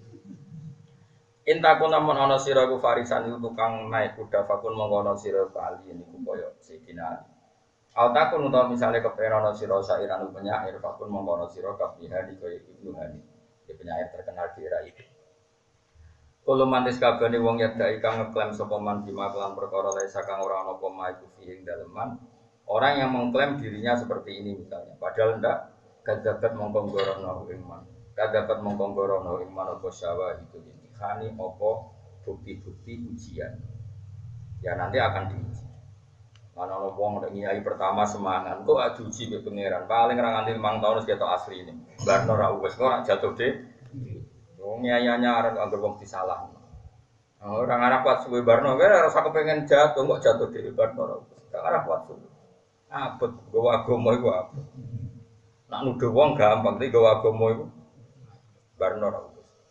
Intaku namun ana sira ku farisan itu tukang naik kuda fakun mongko ana sira kali niku kaya Sayyidina Ali. Altakun utawa misale kepen ana sira sairan penyair fakun mongko ana sira kabihani kaya Ibnu Hani. Dia penyair terkenal di era itu. Kulo mantis kabane wong yadai kang ngeklaim sapa man bima kelan perkara lae sakang ora ana apa maiku ing daleman. Orang yang mengklaim dirinya seperti ini misalnya, padahal ndak kadzabat mongko gorono ing man. Kadzabat mongko gorono ing man apa syawa itu ini. Khani apa bukti-bukti ujian. Ya nanti akan diuji. Ana ana wong nek nyai pertama semangat, kok adu uji be pangeran. Paling ra nganti limang tahun wis ketok asli ini. Barno ra wis kok ora jatuh de. Wong nyayanya arep anggere wong disalah. Orang Arab kuat suwe barno, kira rasa kepengen jatuh, kok jatuh di barno. Orang Arab kuat suwe. Abot, gawa agama itu abot. Nak nuduh wong gampang, tapi gawa agama itu barno ra.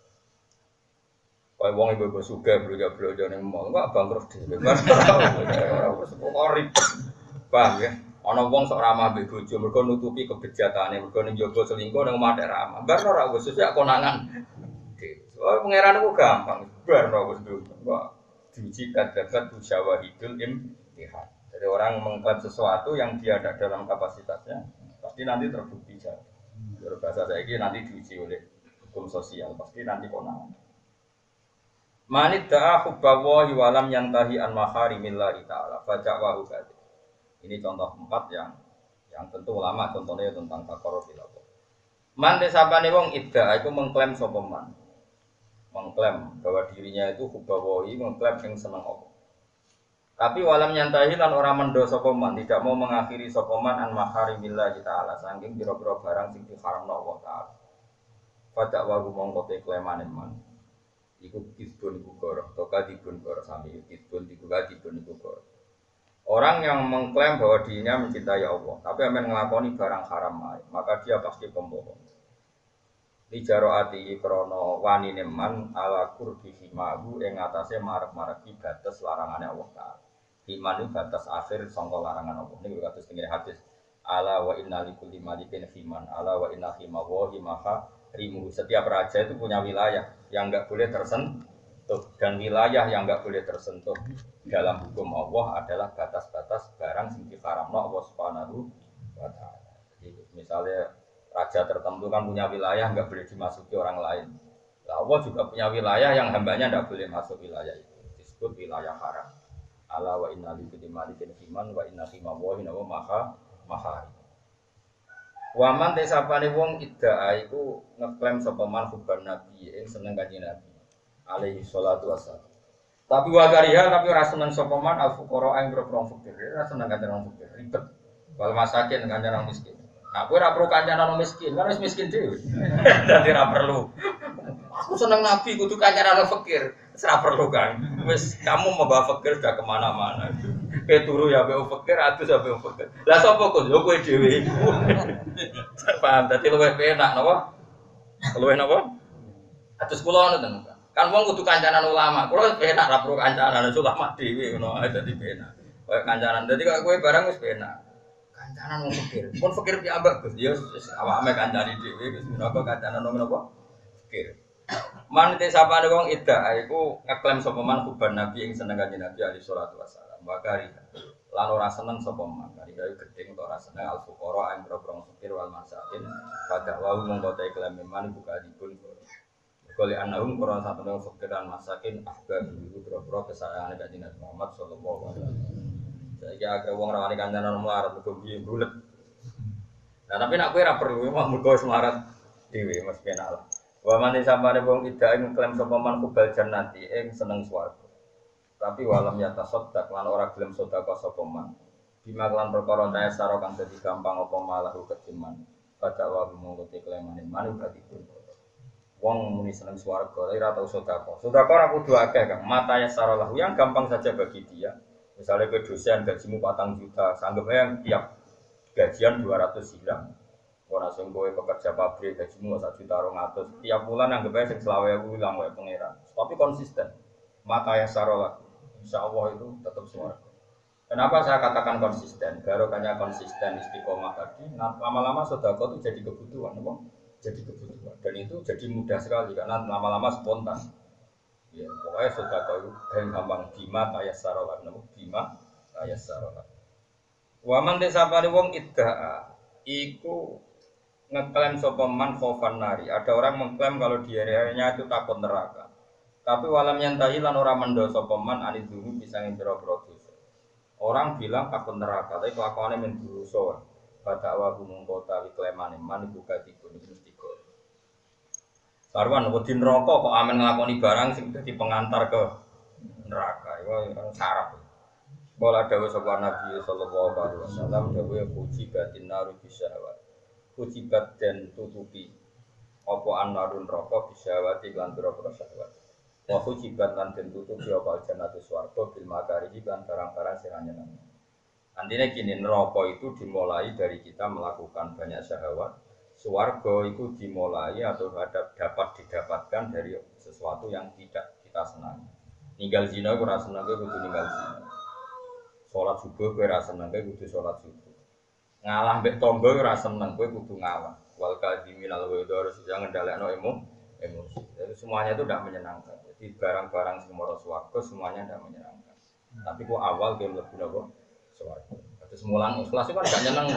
Kayak wong ibu-ibu suga beluga-beluga ning mall, kok bangkrut dhewe. Barno ra. Wis ribet. Paham ya? Ana wong sok ramah mbek bojo, mergo nutupi kebejatane, mergo ning jaba selingkuh ning omah ramah. Barno ra wis sesuk konangan. Oh, pangeran itu gampang, barno wis dulu. Wah, diuji kadabat syawahidul imtihan. Jadi orang mengklaim sesuatu yang dia ada dalam kapasitasnya, pasti nanti terbukti jatuh. Berbahasa saya ini nanti diuji oleh hukum sosial, pasti nanti konangan. Manid da'a hubbawahi walam yantahi an maharimillahi ta'ala faja'wahu kadhi. Ini contoh empat yang yang tentu ulama contohnya tentang takarruf ilallah. Man desapane wong idda iku mengklaim sapa man. Mengklaim bahwa dirinya itu hubbawahi, mengklaim yang senang Allah. Tapi walam nyantahi lan orang mendo sapa man, tidak mau mengakhiri sapa man an maharimillah taala saking pira-pira barang sing diharamno Allah taala. Pada wagu mongko te klaimane man. Iku kisbun iku goroh, toka dibun goroh sami kisbun iku dibun iku goroh. Orang yang mengklaim bahwa dirinya mencintai Allah, tapi amen nglakoni barang haram, maka dia pasti pembohong. Lijaro ati krono wanine man ala kurbi himahu ing atase marek-mareki batas larangane Allah Taala. Himan itu batas akhir sangka larangan Allah. Niku kados tengene hadis. Ala wa inna likulli malikin himan. Ala wa inna himahu himaha rimu. Setiap raja itu punya wilayah yang enggak boleh tersentuh dan wilayah yang enggak boleh tersentuh dalam hukum Allah adalah batas-batas barang sing diharamno Allah Subhanahu wa taala. Jadi misalnya raja tertentu kan punya wilayah nggak boleh dimasuki orang lain. Nah, Allah juga punya wilayah yang hambanya nggak boleh masuk wilayah itu. Disebut wilayah haram. Ala wa inna likulli malikin himan wa inna himawahi wa maha maha. Waman tesapane wong idda'a iku ngeklaim sapa man hubban nabi ing seneng kanjeng Nabi alaihi salatu wassalam. Tapi wagariha tapi ora seneng sapa man al fuqara ing grobong fakir. Ora seneng kanjeng wong fakir. Ribet. Wal masakin kanjeng wong miskin. Nah, aku ora perlu kancanan miskin, kan wis miskin dhewe. Dadi ora perlu. Aku seneng Nabi kudu kancanan fakir. Wis ora perlu kan. Wis kamu membawa fakir sudah kemana mana. Ke turu ya mbek fakir, adus ya mbek fakir. Lah sapa kok yo kowe dhewe. Paham dadi luwih penak napa? Luwih napa? Adus kula ngono ten. Kan wong kudu kancanan ulama. Kula penak ora perlu kancanan ulama dhewe ngono ae dadi penak. Kayak kancanan. Dadi kok kowe barang wis penak. Kancanan wong fakir. Mun fakir piambak Gus, ya awake kancane dhewe Gus menapa kancanan wong menapa? Fakir. Man te sapane wong idda iku ngeklaim sapa man hubban nabi ing seneng kanjeng Nabi alaihi salatu wasallam. Bakari. Lan ora seneng sapa man. Kari gawe gedeng ora seneng al fuqara ing grogrong fakir wal masakin. Pada wau mongko te klaim man buka dipun. Kali anahum qur'an satune fakir dan masakin ahbab iku grogrong kesayangane kanjeng Nabi Muhammad sallallahu alaihi wasallam. Saiki akeh wong rawani kancanan melarat mergo piye bulet. Nah tapi nek kowe ora perlu mah mergo semarat dhewe Mas penak lah. Wa man samane wong ida ing klaim sapa man kubal jannati ing seneng swarga. Tapi walam yata sodak lan ora gelem sedekah sapa man. Bima lan perkara ta saro kang dadi gampang apa malah ketiman. Pada wa mongko te klaimane man berarti pun. Wong muni seneng swarga ora tau sedekah. Sedekah ora kudu akeh Kang. Mata ya saro lahu yang gampang saja bagi dia. Misalnya ke dosen gajimu patang juta, sanggup yang tiap gajian dua ratus hilang. Orang sing kowe pekerja pabrik gajimu satu juta rong atus, tiap bulan anggap aja sing selawe aku hilang wae pangeran. Tapi konsisten. Mata yang sarolah, insya Allah itu tetap swarga. Kenapa saya katakan konsisten? Barokahnya konsisten istiqomah tadi, lama-lama sedekah itu jadi kebutuhan, apa? Jadi kebutuhan. Dan itu jadi mudah sekali karena lama-lama spontan. Ya, pokoknya sedekah itu gampang bima tayassara lan bima tayassara. Wa man desapane wong idda'a iku ngeklaim sapa man khaufan nari. Ada orang mengklaim kalau dirinya itu takut neraka. Tapi walam yantahi lan ora mendoso peman anid dulu bisa ngintero dosa. Orang bilang takut neraka, tapi kelakuannya men dosa. Pada awal gunung kota wiklemane man buka dikun mesti kok. Karuan wedi neraka kok amen nglakoni barang sing dadi pengantar ke neraka. Iku sarap. Kala dawuh sapa Nabi sallallahu alaihi wasallam dawuh puji batin naru bisyahwat. Puji bat den tutupi apa anarun neraka bisyahwat lan pira-pira syahwat. Wa hujibat lan den tutupi apa jannatu swarga bil makari lan barang-barang sing nyeneng. Antine gini neraka itu dimulai dari kita melakukan banyak syahwat. Swarga itu dimulai atau dapat didapatkan dari sesuatu yang tidak kita senangi. Ninggal zina ora seneng kudu ninggal zina. Salat subuh kowe ora seneng kudu salat subuh. Ngalah mbek tangga ora seneng kowe kudu ngalah. Wal kadhiminal ghaidha harus jangan ngendhalekno emosi. Jadi semuanya itu tidak menyenangkan. Jadi barang-barang semua swarga semuanya tidak menyenangkan. Hmm. Tapi kok awal dia mlebu napa? Swarga. Terus mulang ikhlas itu kan gak nyeneng.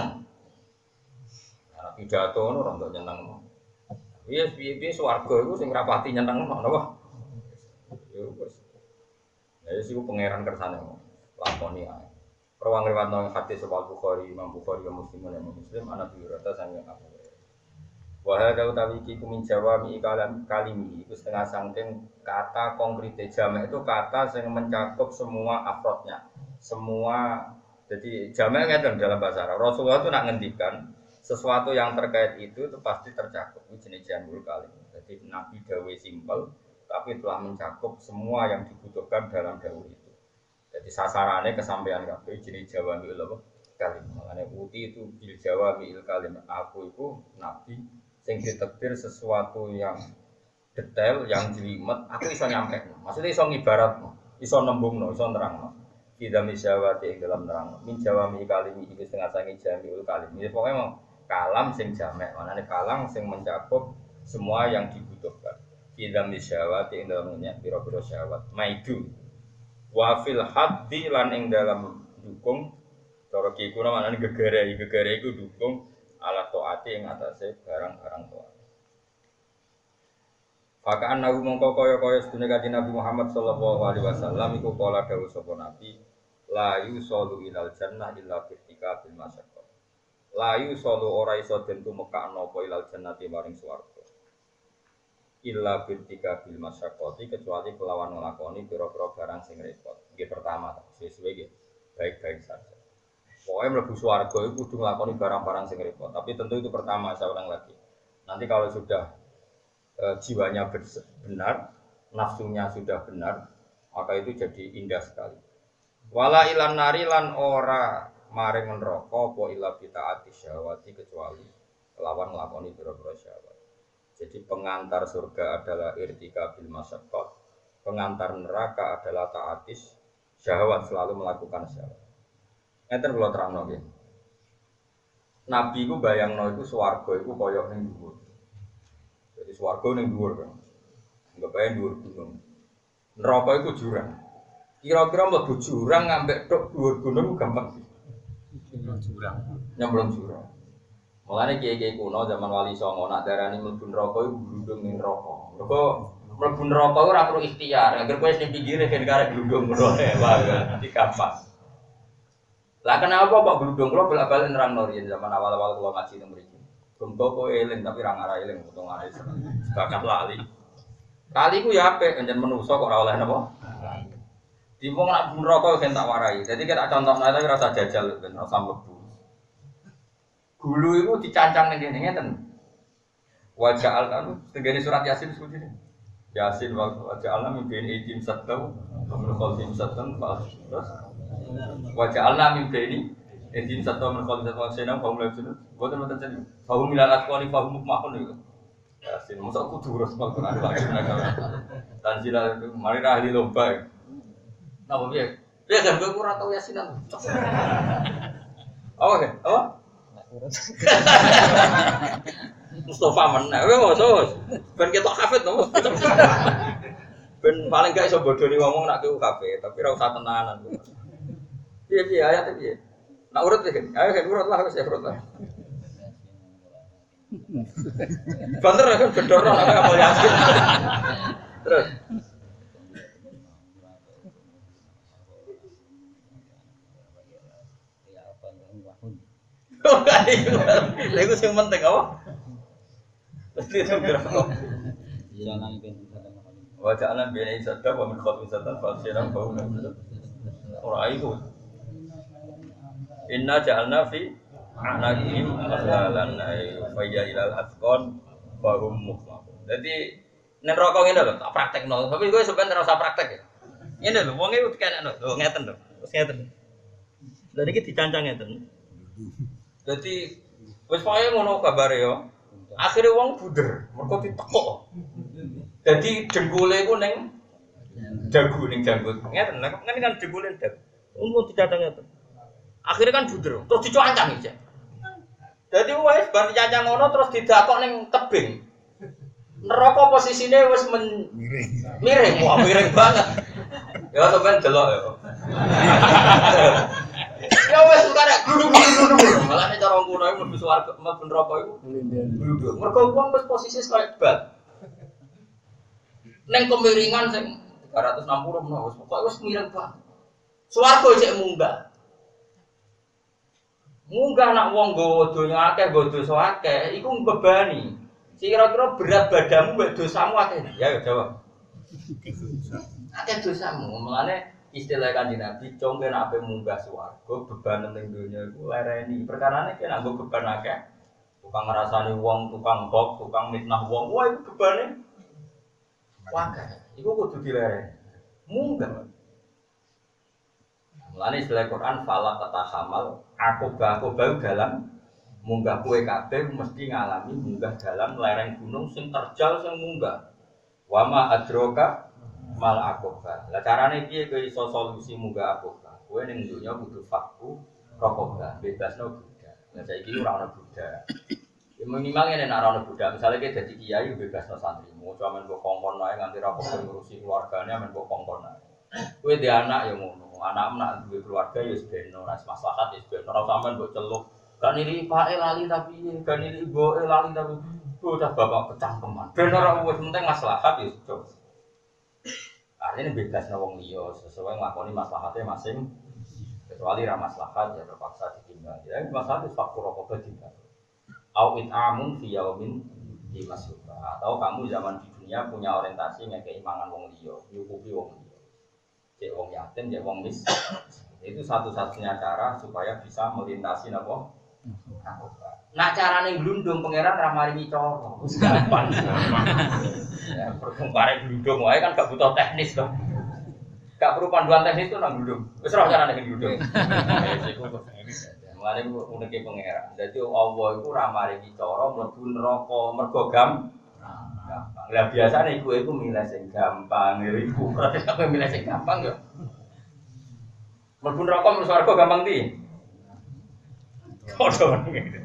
Nah, pidato ngono ora ndak nyeneng. Iya, piye-piye swarga iku sing rapati nyeneng napa? Ya wis. Ya wis iku pangeran kersane. Lakoni ae. Perwang riwayatno hadis sahih Bukhari, Imam Bukhari dan Muslim dan Muslim anak biurata sange Abu. Wahada utawi iki kumin Jawa mi kalam kalimi itu setengah sangking kata konkret jamak itu kata yang mencakup semua afrodnya semua jadi jamak ngeten dalam bahasa Arab. Rasulullah itu nak ngendikan sesuatu yang terkait itu itu pasti tercakup itu jenis jamul kalim. Jadi Nabi dawe simpel tapi telah mencakup semua yang dibutuhkan dalam dawe itu. Jadi sasarannya kesampaian kabeh jenis Jawa mil kalim. Makanya uti itu bil Jawa mil kalim. Aku itu Nabi sing ditakdir sesuatu yang detail, yang jelimet, aku iso nyampe. Maksudnya iso ngibarat, iso nembungno, iso nerangno. Kita misyawati ing dalam nerangno. Min jawami kalimi iki setengah sangi jamiul kalim. Ini pokoknya mau kalam sing jamek, manane kalam sing mencakup semua yang dibutuhkan. Kita misyawati ing dalam nya pira-pira syahwat. Maidu. Wa fil haddi lan ing dalam dukung cara ki kuna manane gegere, gegere iku dukung ala taati ing atase barang-barang taat. Fakaan nabi mongko kaya-kaya sedune kanjeng Nabi Muhammad sallallahu alaihi wasallam iku kala dawuh sapa Nabi la yusallu ilal jannah illa birtika bil masyaqqah. La yusallu ora iso den tumekakno apa ilal jannati maring swarga. Illa birtika bil masyaqqati kecuali kelawan nglakoni pira-pira barang sing repot. Nggih pertama sesuai nggih baik-baik saja. Pokoknya mlebu swarga itu kudu nglakoni barang-barang sing repot. Tapi tentu itu pertama, saya ulang lagi. Nanti kalau sudah e, jiwanya benar, nafsunya sudah benar, maka itu jadi indah sekali. Wala ilan nari lan ora maring neraka apa ila bitaati syahwati kecuali lawan nglakoni pira-pira syahwat. Jadi pengantar surga adalah irtika bil masyaqqah, pengantar neraka adalah taatis syahwat, selalu melakukan syahwat. Ngeten kula terangno nggih. Nabi ku bayangno iku swarga iku kaya ning dhuwur. Jadi swarga ning dhuwur kan. Enggak bayang dhuwur gunung. Neraka iku jurang. Kira-kira mlebu jurang ngambek tok dhuwur gunung gampang sih. Nyemplung jurang. Nyemplung jurang. Mulane kiai-kiai kuno zaman Wali Songo nak darani mlebu neraka iku glundung ning neraka. Mergo mlebu neraka ora perlu ikhtiar. Angger kowe ning pinggire ben karek glundung ngono ae wae. Iki gampang. Lah kenapa Pak Gludung kula bolak-balik nerangno riyen zaman awal-awal kula ngaji teng mriki. Gumko kowe eling tapi ra ngara eling potongane bakat lali. Kali ku ya apik pancen menungso kok ora oleh napa? Di wong nak neraka ben tak warai. Dadi kita contohna tapi rasa jajal ben ora mlebu. Gulu iku dicancang ning kene ngeten. Wajah al-kan tegene surat Yasin seperti ini. Yasin wajah alam bin ijim satau min khalfim satan terus wajah Allah mimpi ini, edin satu merkol satu senang, kaum lagi sini, bukan macam jadi, kaum milan akwani, kaum mukmakun itu, ya sih, masa aku turus kalau ada lagi mereka, dan sila mari ahli lomba, nah boleh, dia kan gue kurang tahu yasinan, oh oke, oh, Mustafa mana, gue mau sos, ben kita hafid dong, ben paling gak iso bodoni ngomong nak ke kafe, tapi ra usah tenanan. Piye piye ayat piye? Nak urut iki. Ayo kan urut lah wis ya urut lah. Banter kan bedoro nek apa yasin. Terus Ora iku. Lha iku sing penting apa? Mesti itu berapa? Jangan ben sadar. Wajahnya biaya sadar, wa min khalqin sadar, fa siram bau. Ora iku. Inna ja'alna fi a'naqihim aghlalan ay fa ya ilal asqan fa hum muqmahun. Dadi nek rokok ngene lho, tak praktekno. Tapi kowe sampeyan ora usah praktek ya. Ngene lho, wong e kenekno. Lho ngeten lho. Terus ngeten. Lah niki dicancang ngeten. Dadi wis pokoke ngono kabare yo. Akhire wong buder, mergo ditekuk. Dadi dengkule iku ning dagu ning janggut. Ngeten, kan kan dengkule dagu. Umum dicancang ngeten. Akhirnya kan buder, terus dicuancang iki. Dadi wis bar dicancang ngono terus didakok ning tebing. Neraka posisine wis men... miring. Miring, wah miring banget. Ya sampean delok ya. Ya wis karek gluduk-gluduk. Malah nek cara ngono iku mlebu swarga, mlebu neraka iku gluduk. Mergo wong wis posisi koyo bal. Ning kemiringan sing tiga ratus enam puluh menawa wis pokoke wis miring banget. Swarga cek munggah. Munggah nak wong nggawa donya akeh, nggawa dosa akeh, iku mbebani. Kira-kira berat badanmu mbek dosamu akeh. Ya ya jawab. Akeh dosamu. Mulane istilah Kanjeng Nabi, congke nek ape munggah swarga, beban ning donya iku lereni. Perkarane ki nek nggo beban akeh, tukang ngrasani wong, tukang hoax, tukang mitnah wong, wah iku bebane akeh. Iku kudu dilereni. Munggah. Mulane istilah Quran fala tatahamal, aku aku bau dalam munggah kue kabeh mesti ngalami munggah dalam lereng gunung sing terjal sing munggah. Wama adroka mal akoba. Lah carane piye kowe iso solusi munggah akoba? Kowe ning donya kudu fakku rokoba, bebasno budak. Lah saiki ora ana budak. Ya minimal nek ora ana budak, misale kowe dadi kiai bebasno santrimu, cuma men mbok kongkon ae nganti ra kok ngurusi keluargane men mbok kongkon ae. Kowe dhe anak ya ngono. Anak nak duwe keluarga ya wis ben ora maslahat ya ben ora sampean mbok celuk. Gak nili pake lali tapi gak nili ibuke lali tapi bocah bapak kecangkeman. Ben ora wis penting maslahat ya sudah. Artinya bebas wong liya sesuai nglakoni maslahatnya masing. Kecuali ra maslahat ya terpaksa ditinggal. Ya maslahat wis faktur apa ditinggal. Au it'amun fi yaumin di masrufa. Atau kamu zaman di dunia punya orientasi ngekei mangan wong liya, nyukupi wong liya. Cek wong yatim, cek wong miskin. Itu satu-satunya cara supaya bisa melintasi napa? Nak carane glundung pangeran ra maringi cara. Wis gampang. Ya, perkembare glundung wae kan gak butuh teknis to. Gak perlu panduan teknis to nang glundung. Wis ora carane glundung. Wis iku teknis. Mulane uneke pangeran. Dadi Allah iku ra maringi cara mlebu neraka mergo gampang. Lah biasane iku iku milih sing gampang iku. Apa milih sing gampang yo. Mlebu neraka mlebu swarga gampang ti. Kodho ngene.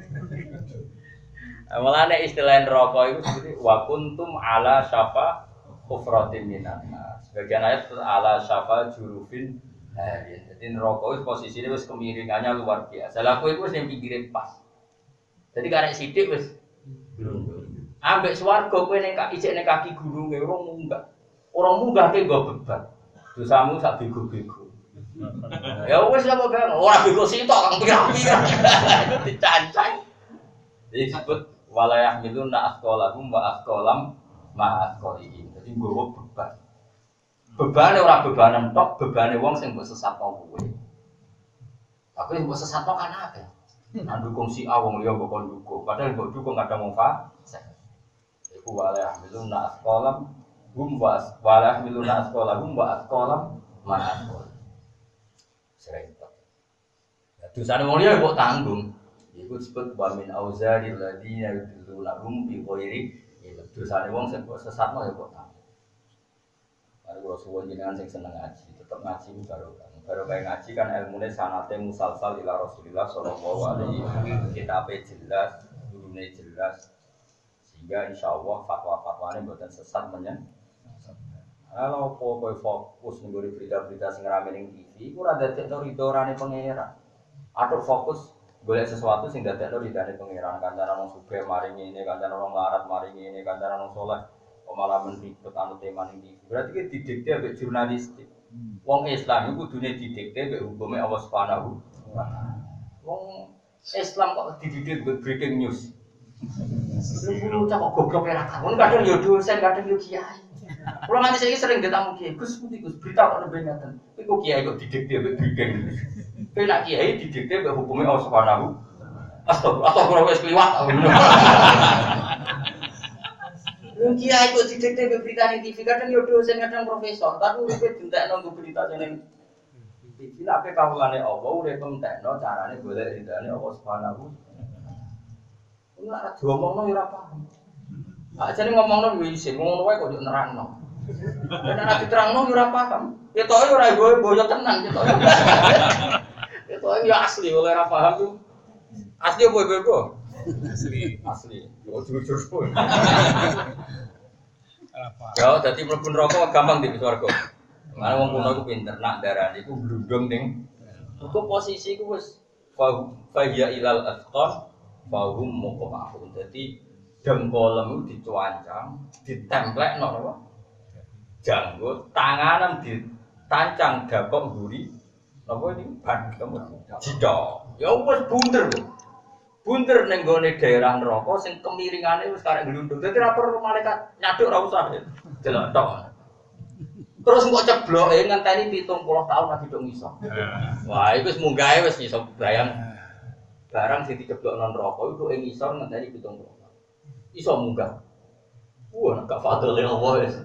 Mulane istilah neraka iku seperti wa kuntum ala syafa hufratin minan nas. Sebagian ayat ala syafa jurufin harin. Jadi neraka wis posisine wis kemiringannya luar biasa. Lah kowe iku wis ning pinggire pas. Jadi karek sithik wis glundung. Ambek swarga kowe ning kaki ijek ning kaki gununge ora munggah. Ora munggah ke nggo beban. Dosamu sak bego-bego. Ya wis apa kan ora bego sitok kang pirang-pirang. Itu dicancang. Disebut walayah miluna asqalahum wa asqalam ma asqalihim. Jadi nggowo beban. Bebane ora bebanan tok, bebane wong sing mbok sesatno kowe. Tapi mbok sesatno kan akeh. Nang dukung si A wong liya mbok kon dukung. Padahal mbok dukung kadang wong fasik. Iku walayah miluna asqalam hum wa walayah miluna asqalahum wa asqalam ma asqalihim. Serempet. Ya dosane wong liya mbok tanggung. Iku disebut wa min auzaril ladina yudilluna hum bi ghairi ilm. Dosane wong sing kok sesatno ya kok tanggung. Mari kula suwun jenengan sing seneng ngaji, tetep ngaji ku barokah. Barokah ngaji kan ilmune sanate musalsal ila Rasulillah sallallahu alaihi wasallam. Kitabe jelas, gurune jelas. Sehingga insyaallah fatwa-fatwane mboten sesat menyen. Kalau kowe fokus nggone berita-berita sing rame ning T V, iku ora dadekno ridorane pangeran. Atur fokus golek sesuatu sing dadekno ridane pangeran. Kancanan wong sugih maringi ini, kancanan wong larat maringi ini, kancanan wong saleh kok malah menribet anu tema ning T V. Berarti ki didikte ambek jurnalistik. Wong Islam iku kudune didikte ambek hukume Allah Subhanahu wa taala. Wong Islam kok dididik breaking news. Lu cak kok goblok ya kamu kadang yo dosen kadang yo kiai. Kulo nganti saiki sering ditamu kiai, Gus putih Gus berita kok nembe ngaten. Iku kiai kok didikte mbek breaking news. Kowe nak kiai didikte mbek hukume Allah Subhanahu. Astagfirullah, astagfirullah wis kliwat. Wong kiai kok didikte mbek berita ning T V kadang yo dosen kadang profesor, tapi uripe dintekno nggo berita ning T V. Lah ape kawulane Allah uripe entekno carane golek ridane Allah Subhanahu. Ora diomongno ya ora paham. Ajane ngomongno yo isin, ngono wae kok yo nerangno. Nek ora diterangno yo ora paham. Ketoke ora boyo tenan ketoke. Ketoke yo asli oleh ora paham yo. Asli opo ibu? Asli. Asli. Yo jujur pun. Ya dadi mlebu neraka gampang di swarga. Mana wong kuno iku pinter nak darane iku glundung ning. Iku posisi iku wis fa ya ilal asqan Fahum muqamahun. Jadi dengkolem dicuancang, ditemplekno napa? Janggut, tanganan ditancang dakok mburi. Napa iki? Ban jidha. Ya wis bunder lho. Bunder ning gone daerah neraka sing kemiringane wis karek glundung. Dadi ra perlu malaikat nyaduk ra usah. Delok tok. Terus kok cebloke ngenteni pitung puluh tahun lagi dong iso. Wah, iku wis munggahe wis iso bayang. Barang sing diceblok nang neraka iku ing isor ngenteni pitung puluh. Iso munggah. Wah, nek fadhole Allah wis.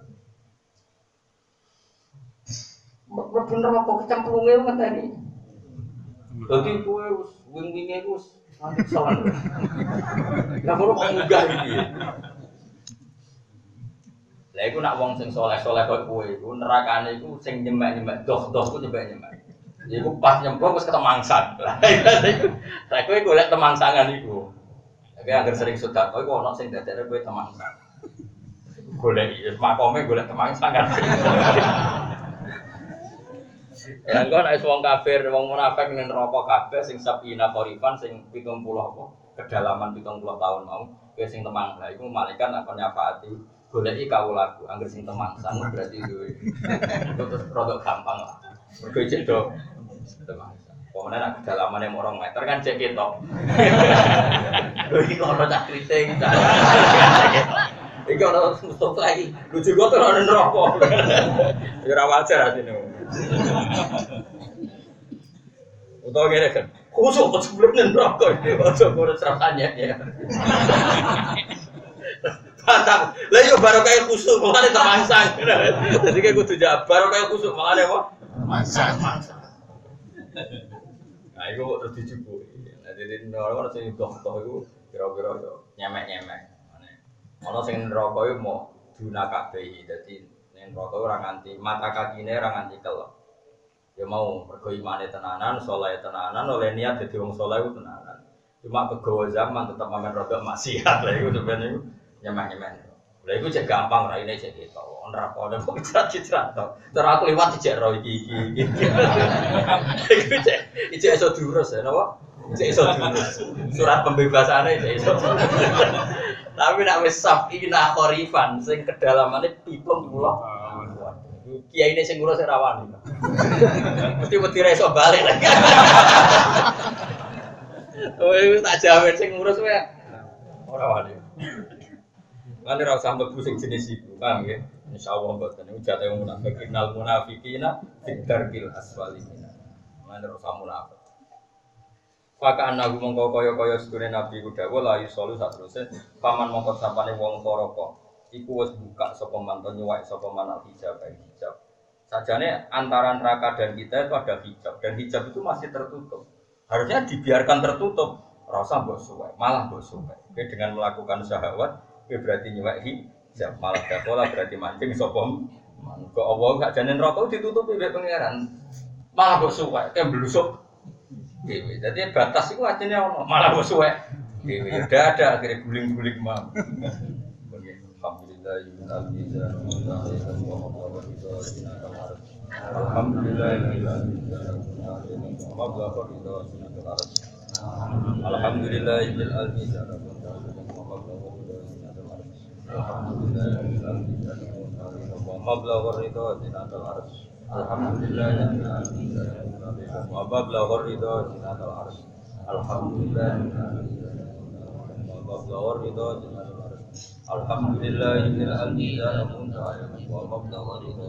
Mlebu neraka kecemplunge ngenteni. Dadi kowe wis wing-winge wis salah. Lah kok munggah iki. Lah iku nak wong sing saleh-saleh koyo kowe iku nerakane iku sing nyemek-nyemek doh-doh ku nyemek-nyemek. Iku pas nyemplung wis ketemangsan. Lah iku saya kowe golek temangsangan iku. Tapi agar sering sedekah kowe ono sing dadekne kowe temangsan. Golek iki makome golek temangsangan. Ya engko nek wong kafir, wong munafik ning neraka kabeh sing sabina korifan sing pitung puluh apa kedalaman pitung puluh tahun mau kowe sing temang. Lah iku malaikat akan nyafaati goleki kawulaku angger sing temangsan berarti duwe. Terus rodok gampang lah. Mergo cek do temangsan. Pokoknya nak kedalamannya mau orang meter kan cek ketok. Iki ono cak kriting. Iki ono stop lagi. Lucu kok ora neraka. Ya ora wajar asine. Utawa ngene kan. Kusuk kok sebelum neraka. Ojo kurang rasanya ya. Mantap. Lah yo baru kayak kusuk mulane temangsan. Dadi kayak kudu jawab baru kayak kusuk mulane apa? Temangsan. Nah, itu kok terus dicukupi. Nah, jadi orang-orang sing doh-doh itu kira-kira yo nyemek-nyemek. Ana sing neraka iku mau duna kabeh. Dadi ning neraka ora nganti mata kakine ora nganti kelep. Ya mau mergo imane tenanan, saleh tenanan, oleh niat dadi wong saleh ku tenanan. Cuma kegawa zaman tetep mamen rodok maksiat. Lah iku sebenarnya iku nyemek-nyemek. Lah iku cek gampang raine cek ketok. Neraka ono kok cicrat to. Cara aku liwat cek ro iki iki. Iku cek iki iso diurus ya napa? Cek iso diurus. Surat pembebasane cek iso. Tapi nek wis sabina korifan sing kedalamane pitung puluh. Kiai ini sing ngurus ora wani. Mesti wedi ra iso balik lagi. Oh, wis tak jamin sing ngurus wae ora wani. Lan ora usah mlebu sing jenis iku, paham nggih? Insyaallah mboten niku jate wong munafik nal munafiqina fidarkil aswalina. Lan ora usah munafik. Maka anaku mongko kaya-kaya sedune Nabi ku dawuh la yusolu satruse paman mongko sapane wong toroko iku wis buka sapa manton nyuwak sapa manal hijab bae hijab. Sajane antara neraka dan kita itu ada hijab dan hijab itu masih tertutup. Harusnya dibiarkan tertutup, rasa mbok suwek, malah mbok suwek. Oke, dengan melakukan syahwat, oke berarti nyuwek hijab, malah dakola berarti mancing sapa man. Kok Allah gak jane neraka ditutupi mbek pangeran. Malah mbok suwek, ke blusuk. Dewi, jadi batas itu artinya ono, malah musuh ya. Dewi, udah ada akhirnya guling-guling mau. Alhamdulillah, Alhamdulillah, Alhamdulillah, Alhamdulillah, Alhamdulillah, Alhamdulillah, wa mablagh ridha zinatul arsy. Alhamdulillah. Wa ridho Alhamdulillahil adzina wa mabda'u ridho